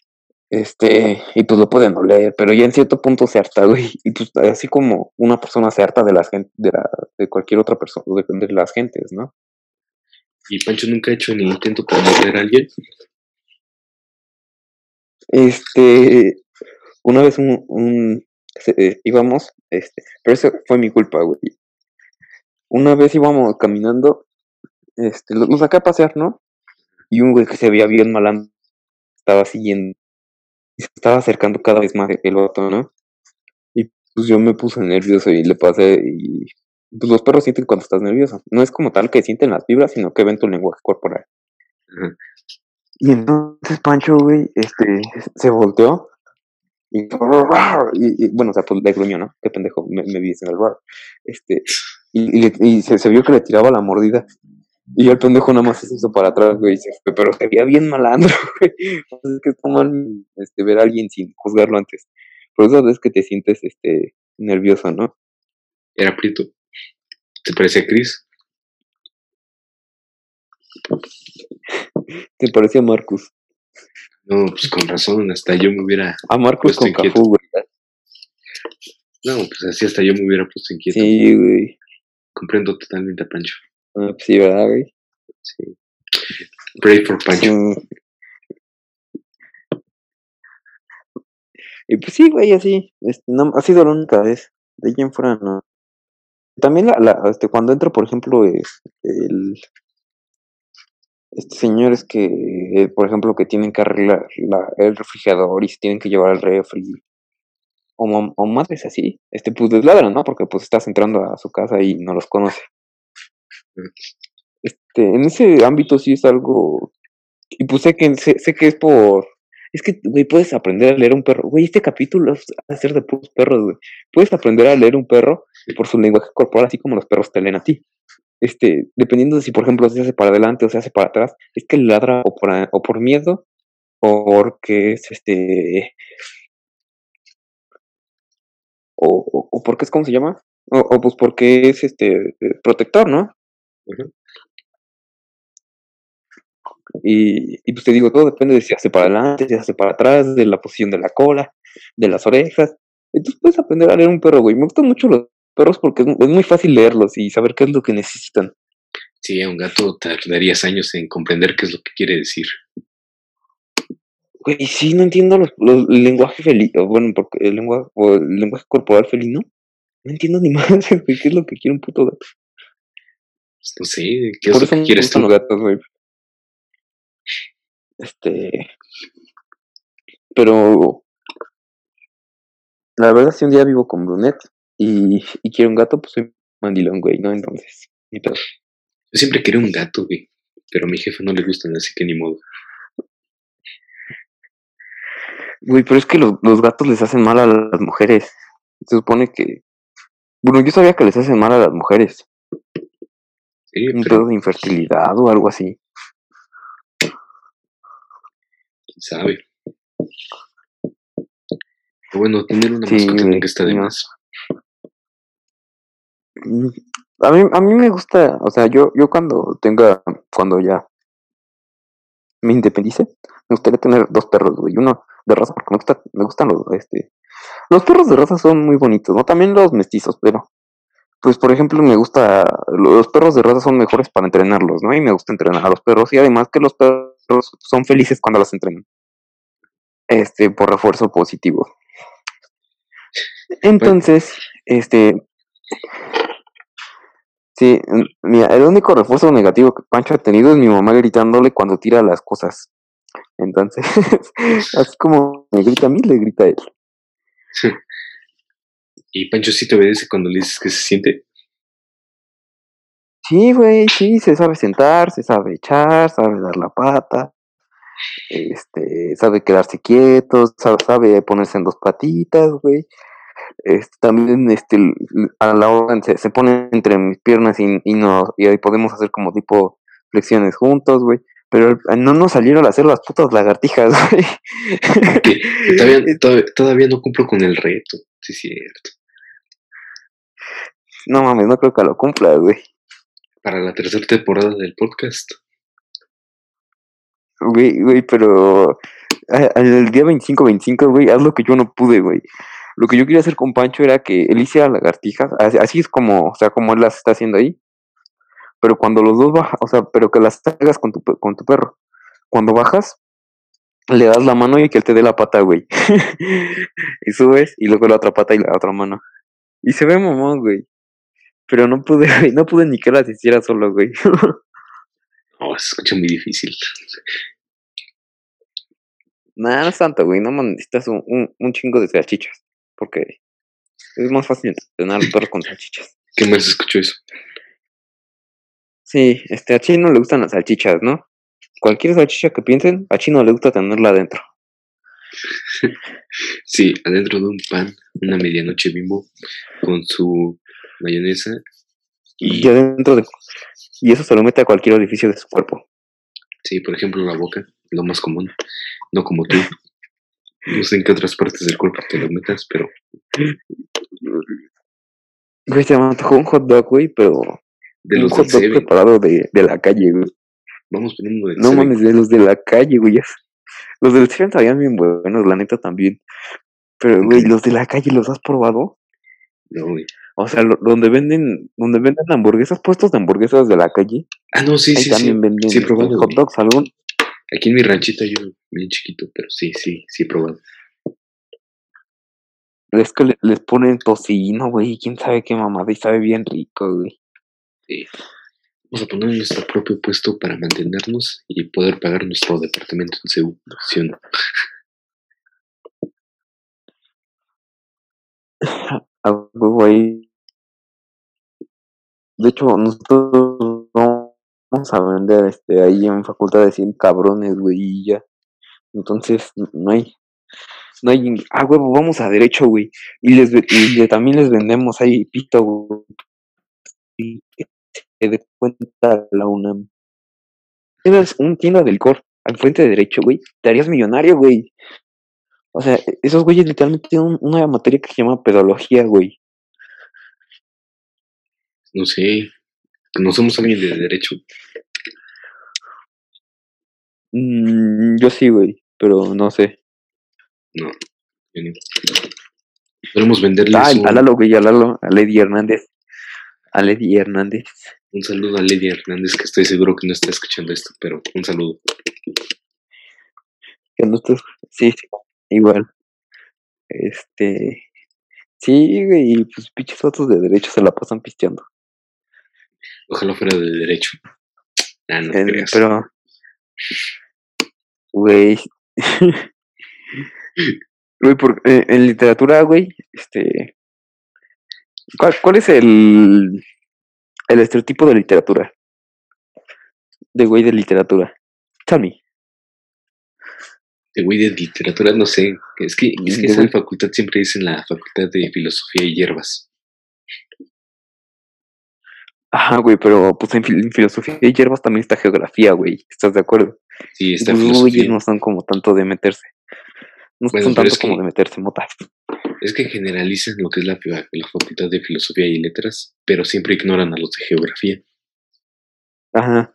Y pues lo pueden oler, pero ya en cierto punto se harta, güey. Y pues así como una persona se harta de las gente, de cualquier otra persona, de las gentes, ¿no? ¿Y Pancho nunca ha hecho ni intento por morder a alguien? Una vez íbamos, pero eso fue mi culpa, güey. Una vez íbamos caminando, lo saqué a pasear, ¿no? Y un güey que se veía bien malandro estaba siguiendo, y se estaba acercando cada vez más el vato, ¿no? Y pues yo me puse nervioso y le pasé, y pues los perros sienten cuando estás nervioso. No es como tal que sienten las vibras, sino que ven tu lenguaje corporal. Ajá. Y entonces Pancho, güey, se volteó y bueno, o sea, pues le gruñó, ¿no? Qué pendejo, me vi en el bar. Y se vio que le tiraba la mordida. Y el pendejo nada más se hizo para atrás, güey. Pero se veía bien malandro, güey. O sea, es que está mal ver a alguien sin juzgarlo antes. Pero esa vez que te sientes nervioso, ¿no? Era prieto. ¿Te parece a Chris? Te parecía a Marcus. No, pues con razón, hasta yo me hubiera A Marcus puesto con inquieto. Cafú, güey. No, pues así hasta yo me hubiera puesto inquieto. Sí, güey. Comprendo totalmente a Pancho. Ah, pues sí, ¿verdad, güey? Sí. Pray for Pancho. Sí. Y pues sí, güey, así. No, ha sido la única vez. De ahí en fuera, no. También cuando entro, por ejemplo, señores que, por ejemplo, que tienen que arreglar el refrigerador y se tienen que llevar al refri, o madres así, pues les ladran, ¿no? Porque pues estás entrando a su casa y no los conoce. En ese ámbito sí es algo, y pues sé que es es que, güey, puedes aprender a leer un perro. Güey, este capítulo va a ser de puros perros, güey. Puedes aprender a leer un perro por su lenguaje corporal, así como los perros te leen a ti. Dependiendo de si, por ejemplo, se hace para adelante o se hace para atrás, es que ladra o por miedo, o porque es o porque es, ¿cómo se llama? O pues porque es protector, ¿no? Uh-huh. Y pues te digo, todo depende de si hace para adelante, si hace para atrás, de la posición de la cola, de las orejas. Entonces puedes aprender a leer un perro, güey. Me gustan mucho los perros porque es muy fácil leerlos y saber qué es lo que necesitan. Sí, a un gato tardarías años en comprender qué es lo que quiere decir. Güey, sí, no entiendo el lenguaje felino, bueno, porque el lenguaje corporal felino. No entiendo ni más, güey, qué es lo que quiere un puto gato. Pues no sé, ¿qué es Por lo eso que me quieres gustan tú? los gatos, güey. Pero la verdad, si un día vivo con Brunette y quiero un gato, pues soy mandilón, güey, ¿no? Entonces, ni pedo. Yo siempre quería un gato, güey, pero a mi jefe no le gustan, así que ni modo. Güey, pero es que los gatos les hacen mal a las mujeres. Se supone que... Bueno, yo sabía que les hacen mal a las mujeres. Sí, Un pero pedo de infertilidad o algo así. quién sabe. Pero bueno, tener una Sí, mascota güey, nunca está de no. más. A mí me gusta, o sea, yo cuando ya me independice, me gustaría tener dos perros, güey. Uno de raza, porque me gustan Los perros de raza son muy bonitos, ¿no? También los mestizos, pero pues por ejemplo me gusta, los perros de raza son mejores para entrenarlos, ¿no? Y me gusta entrenar a los perros y además que los perros son felices cuando los entrenan, por refuerzo positivo. Entonces, sí, mira, el único refuerzo negativo que Pancho ha tenido es mi mamá gritándole cuando tira las cosas. Entonces, así como me grita a mí, le grita a él. ¿Y Pancho sí te obedece cuando le dices que se siente? Sí, güey, sí, se sabe sentar, se sabe echar, sabe dar la pata, sabe quedarse quieto, sabe ponerse en dos patitas, güey. También, a la hora se pone entre mis piernas y ahí podemos hacer como tipo flexiones juntos, güey. Pero no nos salieron a hacer las putas lagartijas, güey. Todavía no cumplo con el reto, sí es cierto. No mames, no creo que lo cumpla, güey. Para la tercera temporada del podcast. Güey, pero el día 25, güey, haz lo que yo no pude, güey. Lo que yo quería hacer con Pancho era que él hiciera lagartijas, así es como, o sea, como él las está haciendo ahí. Pero cuando los dos bajan, o sea, pero que las hagas con tu perro. Cuando bajas, le das la mano y que él te dé la pata, güey. Y subes, y luego la otra pata y la otra mano. Y se ve mamón, güey. Pero no pude, güey, no pude ni que las hiciera solo, güey. No, se escucha muy difícil. Nada, no es tanto, güey. No necesitas un chingo de salchichas. Porque es más fácil entrenar a los perros con salchichas. ¿Qué más escuchó eso? Sí, a Chino le gustan las salchichas, ¿no? Cualquier salchicha que piensen, a Chino le gusta tenerla adentro. Sí, adentro de un pan, una medianoche Bimbo, con su mayonesa y adentro de... Y eso se lo mete a cualquier orificio de su cuerpo. Sí, por ejemplo, la boca, lo más común. No como tú. No sé en qué otras partes del cuerpo te lo metas, pero... Güey, se me antojó un hot dog, güey, pero... De un los hot dog preparado de la calle, güey. Vamos poniendo del No mames, de los de la calle, güey. Los del Seven sabían bien buenos, la neta también. Pero, güey, los de la calle, ¿los has probado? No, güey. O sea, donde venden hamburguesas, puestos de hamburguesas de la calle. Ah, no, sí, ahí sí, también sí. venden Sí, he probado, hot dogs, algún. Aquí en mi ranchito yo, bien chiquito, pero sí, he probado. Es que les ponen tocino, güey, quién sabe qué mamada, y sabe bien rico, güey. Sí. Vamos a poner nuestro propio puesto para mantenernos y poder pagar nuestro departamento en Seúl, ¿sí o no? A huevo ahí. De hecho, nosotros vamos a vender ahí en facultad de 100 cabrones, güey, y ya. Entonces, no hay, huevo, vamos a derecho, güey. Y también les vendemos ahí pito, güey. Y se dé cuenta la UNAM. Tienes un tienda del licor al frente de derecho, güey. Te harías millonario, güey. O sea, esos güeyes literalmente tienen una materia que se llama pedagogía, güey. No sé, ¿conocemos a alguien de derecho? Yo sí, güey, pero no sé. No, yo no. Podemos venderles a Lalo, güey, a Lady Hernández. A Lady Hernández. Un saludo a Lady Hernández, que estoy seguro que no está escuchando esto, pero un saludo. Que no estás... Sí, igual. Sí, güey, y pues pinches fotos de derecho se la pasan pisteando. Ojalá fuera de derecho. Ah, no creas. Pero, güey. Güey, en literatura, güey, ¿cuál es el estereotipo de literatura? De güey de literatura. Tell me. De güey de literatura, no sé. Es que esa facultad siempre dicen la facultad de filosofía y hierbas. Ajá, güey, pero pues en filosofía y hierbas también está geografía, güey. ¿Estás de acuerdo? Sí, está pues, filosofía. Güey, no son como tanto de meterse. No son tanto como de meterse motas. Es que generalizan lo que es la facultad de filosofía y letras, pero siempre ignoran a los de geografía. Ajá.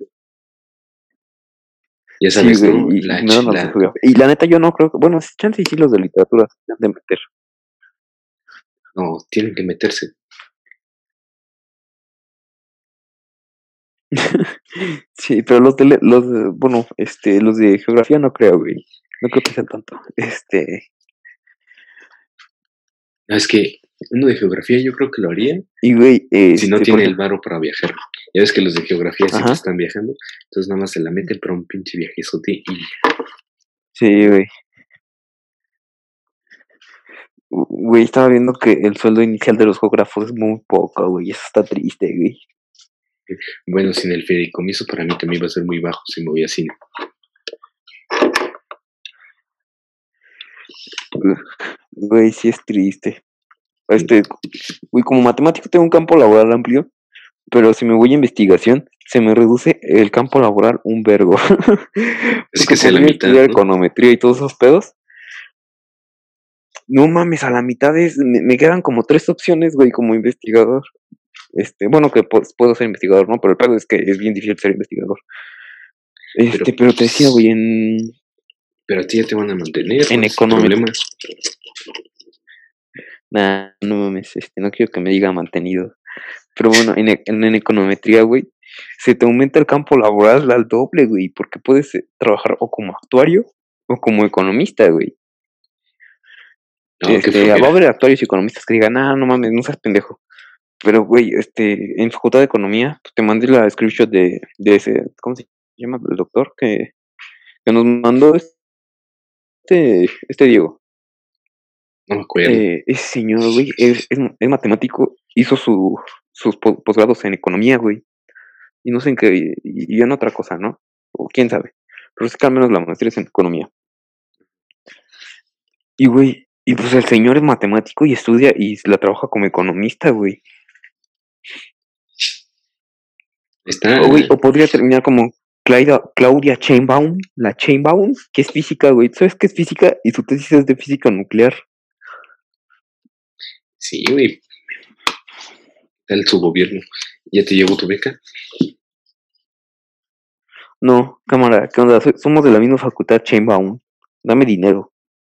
Ya sabes, sí, ¿no? Güey, y la neta yo no creo que... Bueno, chance y sí los de literatura se han de meter. No, tienen que meterse. Sí, pero bueno, los de geografía no creo, güey. No creo que sea tanto. Es que uno de geografía yo creo que lo haría Y güey, si no por tiene el ejemplo, varo para viajar. Ya ves que los de geografía siempre ajá, están viajando, entonces nada más se la meten para un pinche viajezote y sí, güey. Güey, estaba viendo que el sueldo inicial de los geógrafos es muy poco, güey. Eso está triste, güey. bueno, sin el fideicomiso para mí también va a ser muy bajo si me voy a cine. Güey, sí es triste. Güey, como matemático tengo un campo laboral amplio, pero si me voy a investigación, se me reduce el campo laboral un vergo. Así Porque que sea la podría mitad, estudiar ¿no? econometría y todos esos pedos. No mames, a la mitad me quedan como 3 opciones, güey, como investigador. Bueno, que puedo ser investigador, ¿no? Pero el pedo es que es bien difícil ser investigador. Pero, Pero te decía, güey, pero a ti ya te van a mantener, en ¿cuál es el econometría. problema? Nah, no mames, no quiero que me diga mantenido. Pero bueno, en econometría, güey, se te aumenta el campo laboral al doble, güey, porque puedes trabajar o como actuario o como economista, güey. No, qué Va a flojera. haber actuarios y economistas que digan, ah, no mames, no seas pendejo. Pero, güey, en Facultad de Economía, pues, te mandé la screenshot de ese, ¿cómo se llama? El doctor que nos mandó este Diego. No me acuerdo. Ese señor, güey, es matemático, hizo sus posgrados en economía, güey. Y no sé en qué, y en otra cosa, ¿no? O quién sabe. Pero es que al menos la maestría es en economía. Y, güey, y pues el señor es matemático y estudia y la trabaja como economista, güey. Está, O, güey, o podría terminar como Claudia Chainbaum, la Chainbaum, que es física, güey. ¿Sabes qué es física? Y su tesis es de física nuclear. sí, güey, el su gobierno. ¿Ya te llevó tu beca? No, cámara, ¿qué onda? Somos de la misma facultad, Chainbaum. Dame dinero.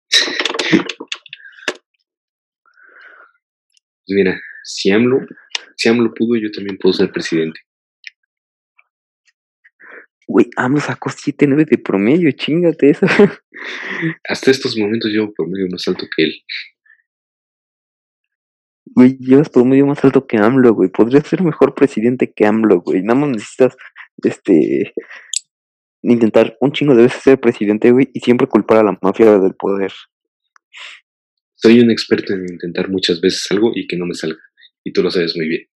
Pues mira, si AMLO pudo, yo también puedo ser presidente. Güey, AMLO sacó 7.9 de promedio, chingate eso. Hasta estos momentos llevo por medio más alto que él. Güey, llevas promedio más alto que AMLO, güey. Podrías ser mejor presidente que AMLO, güey. Nada más necesitas, intentar un chingo de veces ser presidente, güey, y siempre culpar a la mafia del poder. Soy un experto en intentar muchas veces algo y que no me salga. Y tú lo sabes muy bien.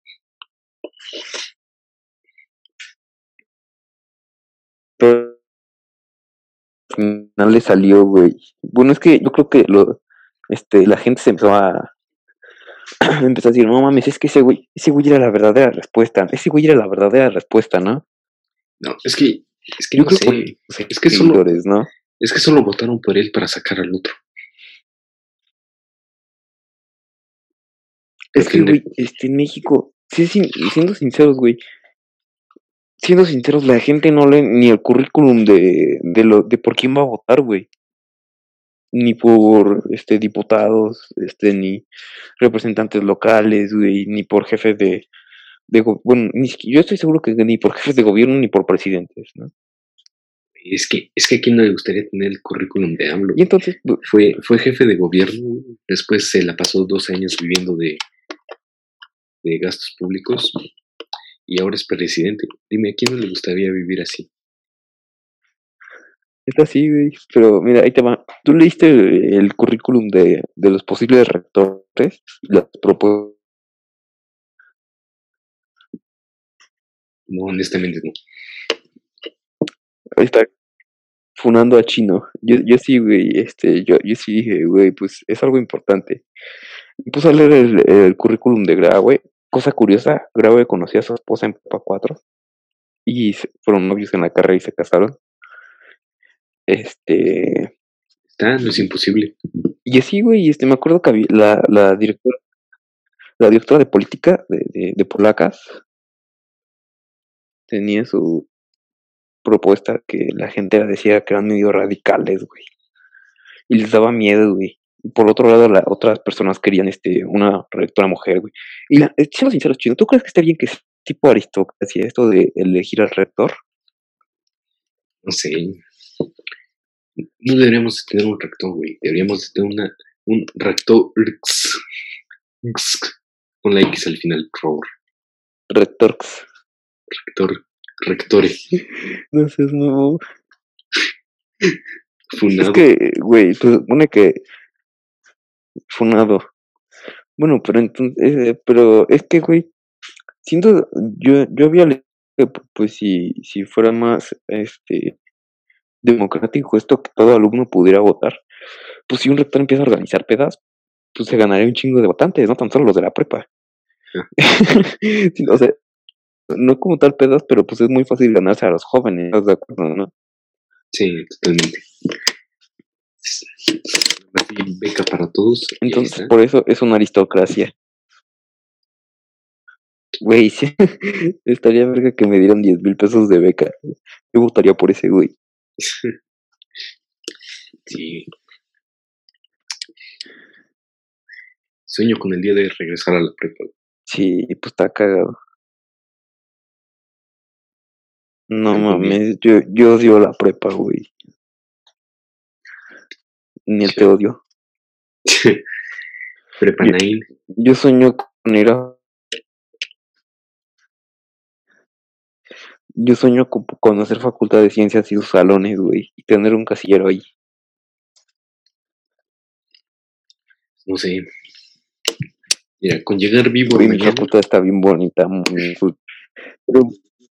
Pero al final le salió, güey. Bueno, es que yo creo que la gente se empezó empezó a decir, no mames, es que ese güey era la verdadera respuesta. Ese güey era la verdadera respuesta, ¿no? No, es que Yo no creo que por sé. sus Es que solo, seguidores, ¿no? es que solo votaron por él para sacar al otro. Es Porque que, güey, en México, sí, siendo sinceros, la gente no lee ni el currículum de por quién va a votar, güey. Ni por diputados, ni representantes locales, güey, ni por jefes bueno, yo estoy seguro que ni por jefes de gobierno ni por presidentes, ¿no? es que a quién no le gustaría tener el currículum de AMLO. Y entonces, Fue jefe de gobierno, después se la pasó 2 años viviendo de gastos públicos y ahora es presidente. Dime, ¿a quién no le gustaría vivir así? está así, güey, pero mira, ahí te va. ¿Tú leíste el currículum de los posibles rectores? Las propuestas. No, honestamente no. Ahí está, funando a Chino. Yo sí, güey, yo sí dije, güey, pues es algo importante. Me puse a leer el currículum de Graue. Cosa curiosa, Graue conocía a su esposa en Prepa 4 y fueron novios en la carrera y se casaron. Este, No es imposible. y así, güey, me acuerdo que había la directora de política de Polacas tenía su propuesta que la gente decía que eran medio radicales, güey. Y les daba miedo, güey. por otro lado, otras personas querían una rectora mujer, güey. Y siendo sincero, Chino, ¿tú crees que esté bien que es tipo aristocracia esto de elegir al rector? No sé. No deberíamos tener un rector, güey. Deberíamos tener un rector con la X al final, por favor. Rectorx. Rectore. No sé, no. Funado. Es que, güey, se supone que funado. Bueno, pero entonces, pero es que, güey, siento, yo había leído que, pues, si fuera más, democrático esto que todo alumno pudiera votar, pues si un rector empieza a organizar pedas, pues se ganaría un chingo de votantes, no tan solo los de la prepa. Sí, o sea, no como tal pedas, pero pues es muy fácil ganarse a los jóvenes, ¿estás de acuerdo, no? Sí, totalmente. Beca para todos. Entonces, por eso es una aristocracia. Güey, sí, estaría verga que me dieran 10,000 pesos de beca. Yo votaría por ese güey. Sí. Sueño con el día de regresar a la prepa. Sí, pues está cagado. No También. mames, yo odio la prepa, güey. Ni el te odio. Prepa Nine. Yo sueño con ir a... Yo sueño con conocer Facultad de Ciencias y sus salones, güey. Y tener un casillero ahí. No sé. Mira, con llegar vivo Güey, a mi mañana. facultad está bien bonita, pero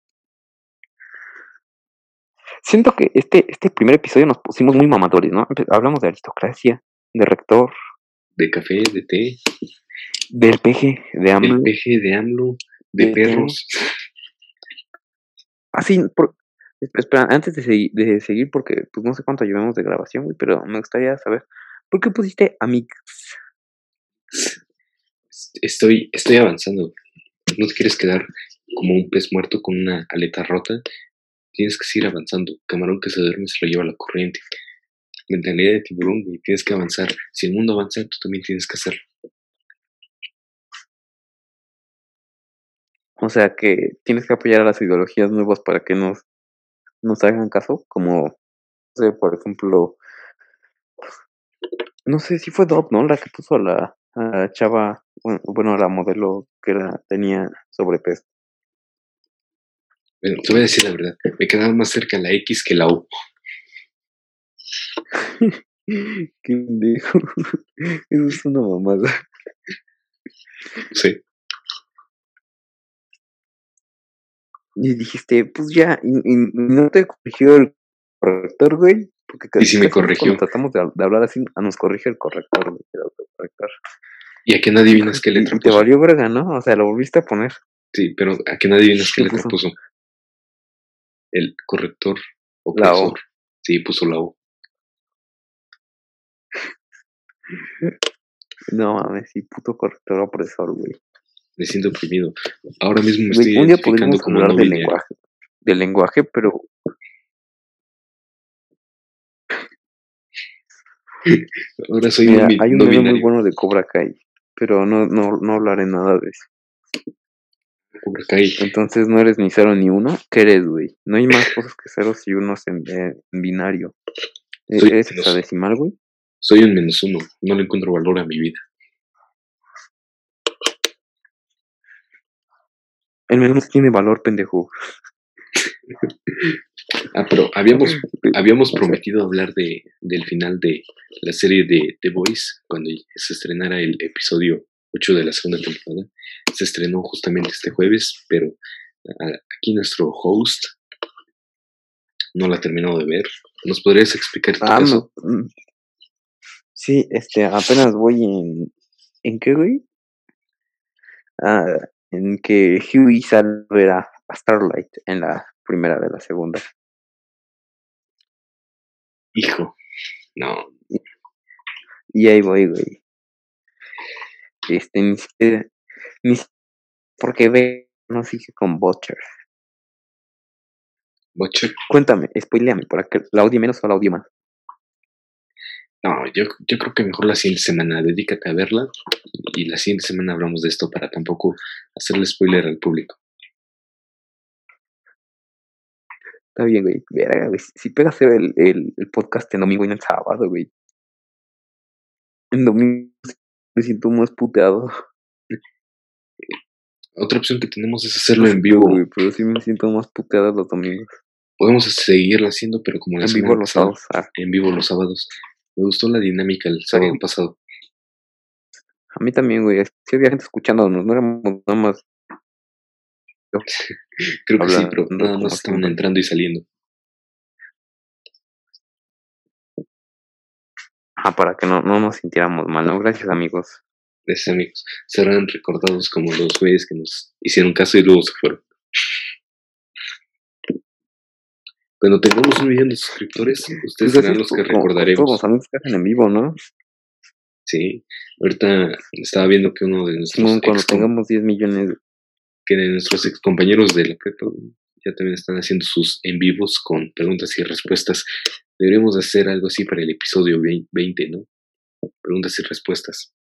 siento que este primer episodio nos pusimos muy mamadores, ¿no? Hablamos de aristocracia, de rector, De café, de té. del peje, de AMLO. Del peje, de AMLO, de perros. Así, espera, antes de seguir, porque pues no sé cuánto llevamos de grabación, güey, pero me gustaría saber, ¿por qué pusiste Amix? Estoy avanzando. No te quieres quedar como un pez muerto con una aleta rota. Tienes que seguir avanzando. Camarón que se duerme se lo lleva la corriente. Mentalidad de tiburón, güey. Tienes que avanzar. Si el mundo avanza, tú también tienes que hacerlo. O sea, que tienes que apoyar a las ideologías nuevas para que nos hagan caso, como, no sé, por ejemplo, no sé si fue Dove, ¿no? La que puso a la chava, bueno, la modelo que tenía sobrepeso. Bueno, te voy a decir la verdad. Me quedaba más cerca la X que la U. Qué pendejo. Eso es una mamada. Sí. Y dijiste, pues ya, y no te corrigió el corrector, güey. Porque Y si me casi corrigió. cuando tratamos de hablar así, nos corrige el corrector, güey, el autocorrector. ¿Y a qué no adivinas qué letra Y te puso? valió verga, ¿no? O sea, lo volviste a poner. Sí, pero ¿a qué no adivinas qué ¿Qué letra puso? puso? El corrector La O. opresor. Sí, puso la U. No mames, sí, puto corrector opresor, güey. Me siento oprimido. Ahora mismo me Güey, estoy un día identificando podríamos como hablar no del binario. lenguaje. Del lenguaje, pero Ahora soy mira, hay un no meme muy binario. bueno de Cobra Kai, pero no hablaré nada de eso. Cobra Kai. Entonces no eres ni cero ni uno. ¿Qué eres, güey? No hay más cosas que ceros y unos en binario. ¿Eres hexadecimal, güey? Soy un -1. No le encuentro valor a mi vida. El menos tiene valor, pendejo. Pero habíamos prometido hablar del final de la serie de The Boys cuando se estrenara el episodio 8 de la segunda temporada. Se estrenó justamente este jueves, pero aquí nuestro host no la ha terminado de ver. ¿Nos podrías explicar tu caso? No. Sí, apenas voy ¿en qué, güey? En que Huey sale a ver a Starlight en la primera de la segunda. Hijo, no. Y ahí voy, güey. Ni siquiera, porque ve, no sigue con Butcher. Butcher. Cuéntame, spoileame, ¿para que la odie menos o la odie más? No, yo creo que mejor la siguiente semana dedícate a verla y la siguiente semana hablamos de esto para tampoco hacerle spoiler al público. Está bien, güey. Verga, güey. Si pega hacer el podcast en domingo y no en sábado, güey. En domingo me siento más puteado. Otra opción que tenemos es hacerlo No en sé tú, vivo. güey, pero sí me siento más puteado los domingos. Podemos seguirlo haciendo, pero como la En semana vivo los pasada, sábados. en vivo los sábados. Me gustó la dinámica el sábado Bien. pasado. A mí también, güey. Sí había gente escuchándonos, no éramos nada más Creo que sí, pero hablando nada como más estaban siempre. entrando y saliendo. Para que no nos sintiéramos mal, ¿no? Gracias, amigos. Gracias, amigos. Serán recordados como los güeyes que nos hicieron caso y luego se fueron. Cuando tengamos 1 millón de suscriptores, ustedes Pues serán así los que con todos recordaremos. los amigos que hacen en vivo, ¿no? Sí, ahorita estaba viendo que uno de nuestros Simón, cuando tengamos 10 millones. que de nuestros ex compañeros de la prepa ya también están haciendo sus en vivos con preguntas y respuestas. Deberíamos hacer algo así para el episodio 20, ¿no? Preguntas y respuestas.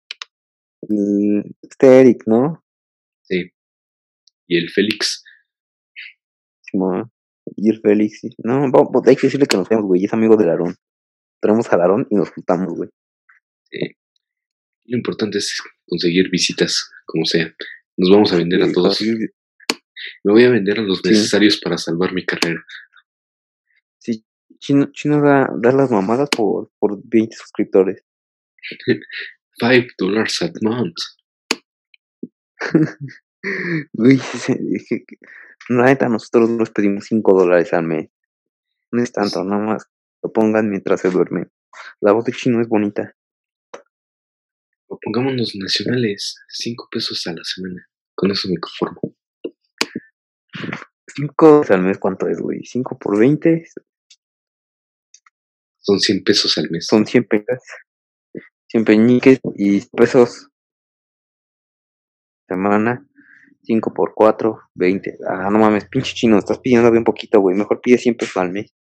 Eric, ¿no? Sí. Y el Félix. Simón. Y el Félix, sí. No, hay que decirle que nos vemos, güey. Es amigo del Aarón. Traemos al Aarón y nos juntamos, güey. Lo importante es conseguir visitas, como sea. Nos vamos a vender a todos. Me voy a vender a los necesarios para salvar mi carrera. Sí, Chino da las mamadas por 20 suscriptores. $5 a month. Güey, la neta, nosotros nos pedimos $5 al mes. No es tanto, nada más lo pongan mientras se duermen. La voz de Chino es bonita. O pongámonos nacionales, 5 pesos a la semana. Con eso me conformo. 5 al mes, ¿cuánto es, güey? 5 por 20. Son 100 pesos al mes. Son 100 pesos. 100 peñiques y pesos. Semana. 5 por 4, 20. No mames, pinche Chino, estás pidiendo bien poquito, güey. Mejor pide 100 pesos al mes.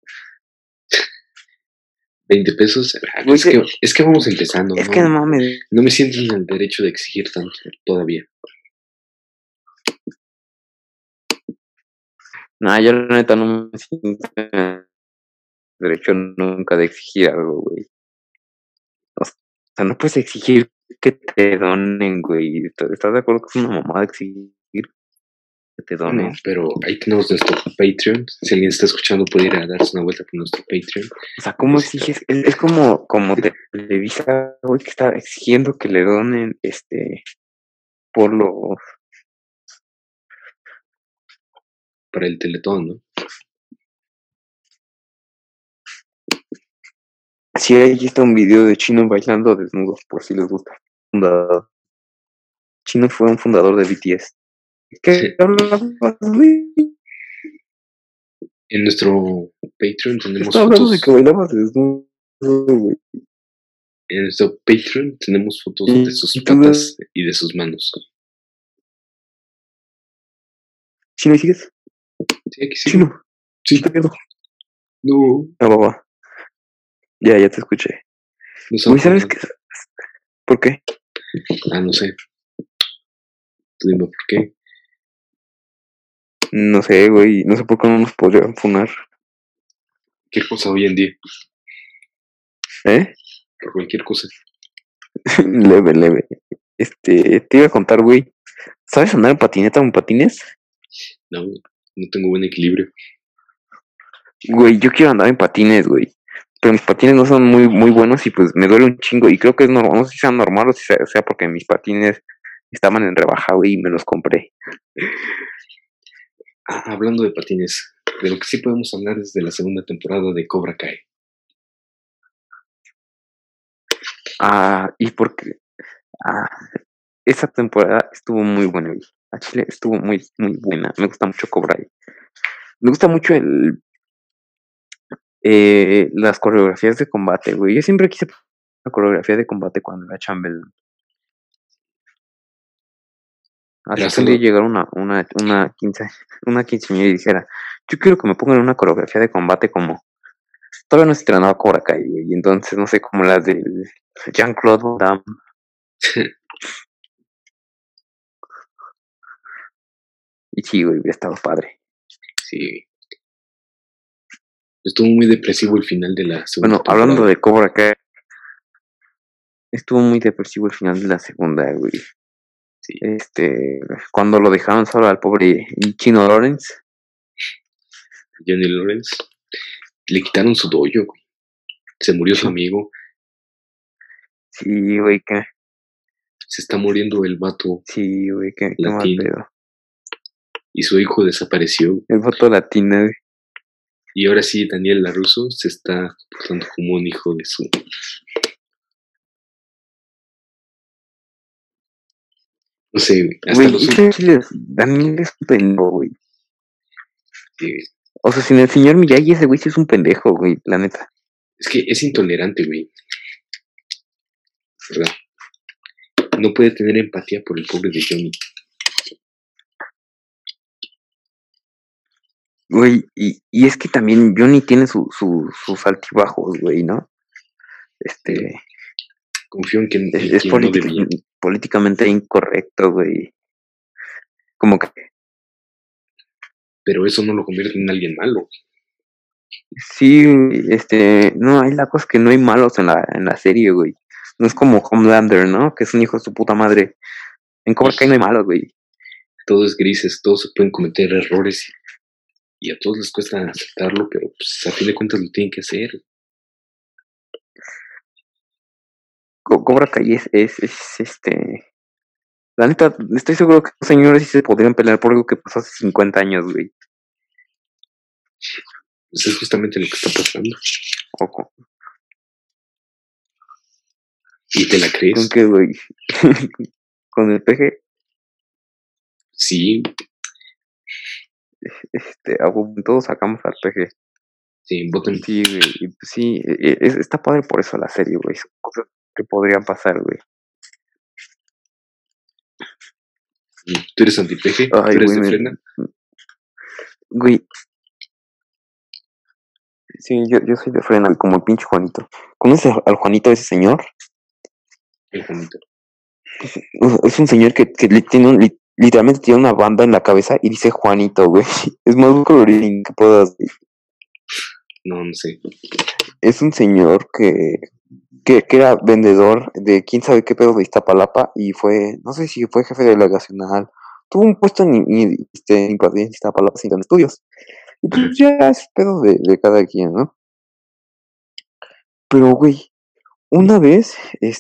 20 pesos. Güey, es que vamos empezando. Es que no mames. No me siento en el derecho de exigir tanto todavía. Yo la neta no me siento en el derecho nunca de exigir algo, güey. O sea, no puedes exigir que te donen, güey. ¿Estás de acuerdo que es una mamada exigir que te donen? No, pero ahí tenemos nuestro Patreon. Si alguien está escuchando, puede ir a darse una vuelta por nuestro Patreon. O sea, ¿cómo exiges? Es como Televisa, güey, que está exigiendo que le donen, por los... Para el Teletón, ¿no? Sí, ahí está un video de Chino bailando desnudos, por si les gusta. Chino fue un fundador de BTS. ¿Qué hablabas, güey? En nuestro Patreon tenemos Estaba hablando de que bailabas desnudo, güey. En nuestro Patreon tenemos fotos de sus patas y de sus manos. ¿Chino, sigues? Sí, aquí sí. Chino. Sí. No. Va. Ya te escuché. Güey, ¿sabes qué? ¿Por qué? No sé. Tú dime por qué. No sé, güey. No sé por qué no nos podrían funar. ¿Qué cosa hoy en día? Por cualquier cosa. Leve. Te iba a contar, güey. ¿Sabes andar en patineta o en patines? No tengo buen equilibrio. Güey, yo quiero andar en patines, güey. Pero mis patines no son muy, muy buenos y pues me duele un chingo. Y creo que es normal, no sé si sea normal o si sea porque mis patines estaban en rebaja, güey, y me los compré. Hablando de patines, de lo que sí podemos hablar es de la segunda temporada de Cobra Kai. Y porque esa temporada estuvo muy buena, güey. A Chile estuvo muy, muy buena. Me gusta mucho Cobra Kai. Me gusta mucho las coreografías de combate, güey. Yo siempre quise una coreografía de combate cuando era chambelán. Así que un día llegara una quinceañera y dijera, yo quiero que me pongan una coreografía de combate como todavía no se estrenaba Cobra Kai, güey, y entonces no sé, como las de Jean-Claude Van Damme. Y sí, güey, hubiera estado padre. Sí. Estuvo muy depresivo el final de la segunda Bueno, hablando de Cobra Kai, estuvo muy depresivo el final de la segunda, güey. Sí. Cuando lo dejaron solo al pobre Chino Lawrence. Johnny Lawrence. Le quitaron su dojo, güey. Se murió su amigo. Sí, güey, que... Se está muriendo el vato. Sí, güey, qué mal latino. pedo. Y su hijo desapareció. El vato latino, güey. Y ahora sí, Daniel LaRusso se está portando como un hijo de su... No sé, güey. Hasta Güey, los... Daniel es un pendejo, güey. Sí. O sea, sin el señor Miyagi, ese güey sí es un pendejo, güey, la neta. Es que es intolerante, güey. ¿Verdad? No puede tener empatía por el pobre de Johnny. Güey, y es que también Johnny tiene sus altibajos, güey, ¿no? Confío en que es no debía. políticamente incorrecto, güey. Como que... Pero eso no lo convierte en alguien malo. Sí, no, hay la cosa que no hay malos en la serie, güey. No es como Homelander, ¿no? Que es un hijo de su puta madre. En Cobra Kai no hay malos, güey. Todo es grises, todos se pueden cometer errores y a todos les cuesta aceptarlo, pero pues a fin de cuentas lo tienen que hacer. Cobra Kai La neta, estoy seguro que los señores sí se podrían pelear por algo que pasó hace 50 años, güey. Pues es justamente lo que está pasando. Ojo. ¿Y te la crees? ¿Con qué, güey? ¿Con el PG? Sí. Todos sacamos al PG. Sí, voten. Sí, güey. Y pues sí, está padre por eso la serie, güey. Son cosas que podrían pasar, güey. ¿Tú eres anti-PG? ¿Tú eres de frena? Güey. Sí, yo soy de frena, como el pinche Juanito. ¿Conoces al Juanito, ese señor? El Juanito. Es un señor que literalmente tiene una banda en la cabeza y dice Juanito, güey. Es más colorín que puedas. No sé. Es un señor que era vendedor de quién sabe qué pedo de Iztapalapa y fue, no sé si fue jefe delegacional. Tuvo un puesto en Iztapalapa sin estudios. Y pues ya es pedo de cada quien, ¿no? Pero, güey, una vez,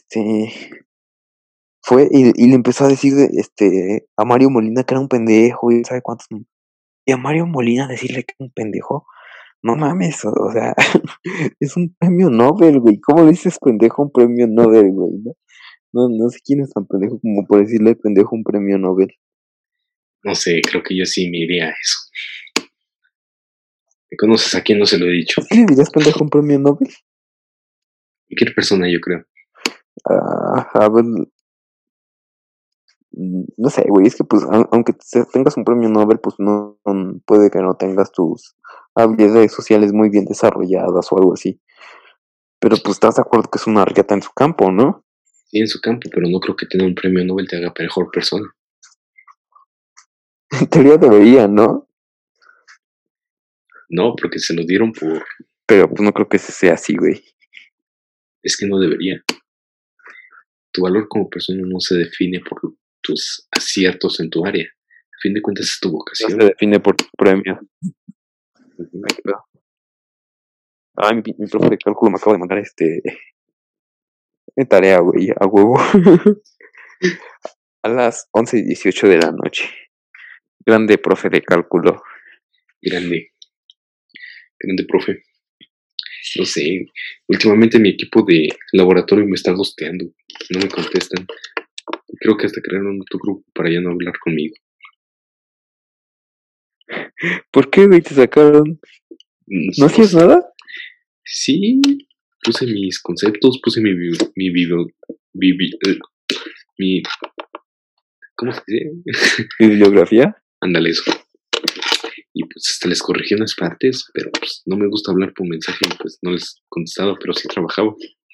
fue y le empezó a decir a Mario Molina que era un pendejo y sabe cuántos. Y a Mario Molina decirle que era un pendejo, no mames, o sea, es un premio Nobel, güey. ¿Cómo le dices pendejo a un premio Nobel, güey? No sé quién es tan pendejo como por decirle pendejo a un premio Nobel. No sé, creo que yo sí me iría a eso. ¿Me conoces a quién no se lo he dicho? ¿Sí le dirías pendejo a un premio Nobel? Cualquier persona, yo creo. A ver, no sé, güey, es que pues aunque tengas un premio Nobel, pues no puede que no tengas tus habilidades sociales muy bien desarrolladas o algo así. Pero pues estás de acuerdo que es una riata en su campo, ¿no? Sí, en su campo, pero no creo que tener un premio Nobel te haga mejor persona. En teoría debería, ¿no? No, porque se lo dieron por... Pero pues no creo que sea así, güey. Es que no debería. Tu valor como persona no se define por tus aciertos en tu área. A fin de cuentas es tu vocación. No se define por tu premio. Ay, mi profe de cálculo me acaba de mandar tarea, güey, a huevo. A las 11:18 de la noche. Grande profe de cálculo. Grande, profe. No sé, últimamente mi equipo de laboratorio me está gosteando. No me contestan. Creo que hasta crearon otro grupo para ya no hablar conmigo. ¿Por qué, güey, te sacaron? ¿No hacías nada? Sí, puse mis conceptos, puse mi ¿cómo se dice? ¿Bibliografía? Ándale eso. y pues hasta les corregí unas partes, pero pues no me gusta hablar por mensaje y pues no les contestaba, pero sí trabajaba.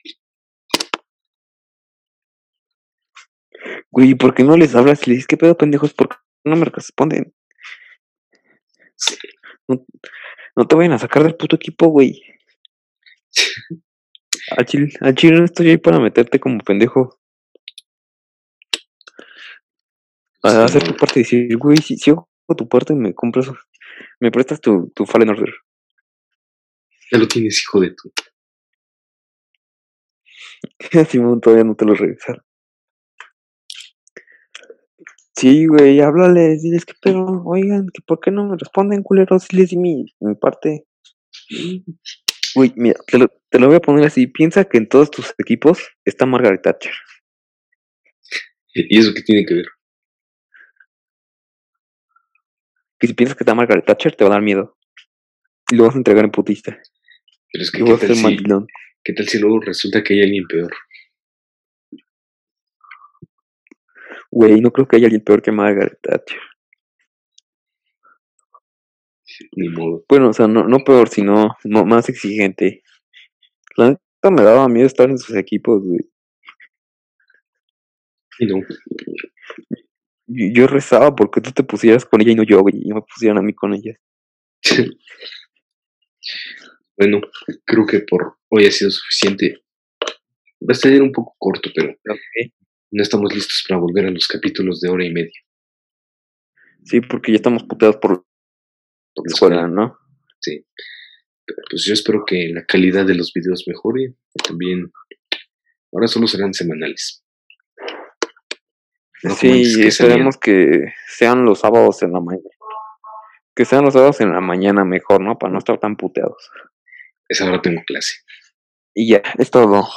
Güey, ¿por qué no les hablas y le dices qué pedo, pendejos? ¿Por qué no me responden? Sí. No te vayan a sacar del puto equipo, güey. Al chile no estoy ahí para meterte como pendejo. A hacer tu parte y decir, güey, si hago tu parte, me prestas tu Fallen Order. Ya lo tienes, hijo de tu. Simón todavía no te lo regresaron. Sí, güey, háblales, diles qué pedo. Oigan, que ¿por qué no me responden, culeros? Si les di mi parte. Güey, mira, te lo voy a poner así. Piensa que en todos tus equipos está Margaret Thatcher. ¿Y eso qué tiene que ver? Que si piensas que está Margaret Thatcher, te va a dar miedo. Y lo vas a entregar en putista. Pero es que, Y vas a ser mandilón. ¿qué tal si luego resulta que hay alguien peor? Güey, no creo que haya alguien peor que Margaret Thatcher. Ni modo. Bueno, o sea, no peor, sino más exigente. La neta me daba miedo estar en sus equipos, güey. Y no. Yo rezaba porque tú te pusieras con ella y no yo, güey. Y me pusieran a mí con ella. Bueno, creo que por hoy ha sido suficiente. Va a salir un poco corto, pero no estamos listos para volver a los capítulos de hora y media. Sí, porque ya estamos puteados por la escuela, ¿no? Sí. Pero pues yo espero que la calidad de los videos mejore. También, ahora solo serán semanales. No sí, esperemos que sean los sábados en la mañana. Que sean los sábados en la mañana mejor, ¿no? Para no estar tan puteados. Esa hora tengo clase. Y ya, es todo.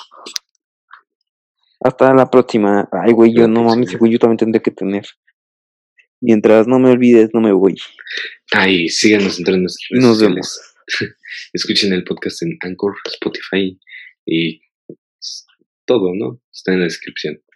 Hasta la próxima. Ay, güey, yo no mames, güey, yo también tendré que tener. Mientras no me olvides, no me voy. Ay, síganos entre nuestras redes sociales. Vemos. Escuchen el podcast en Anchor, Spotify y todo, ¿no? Está en la descripción.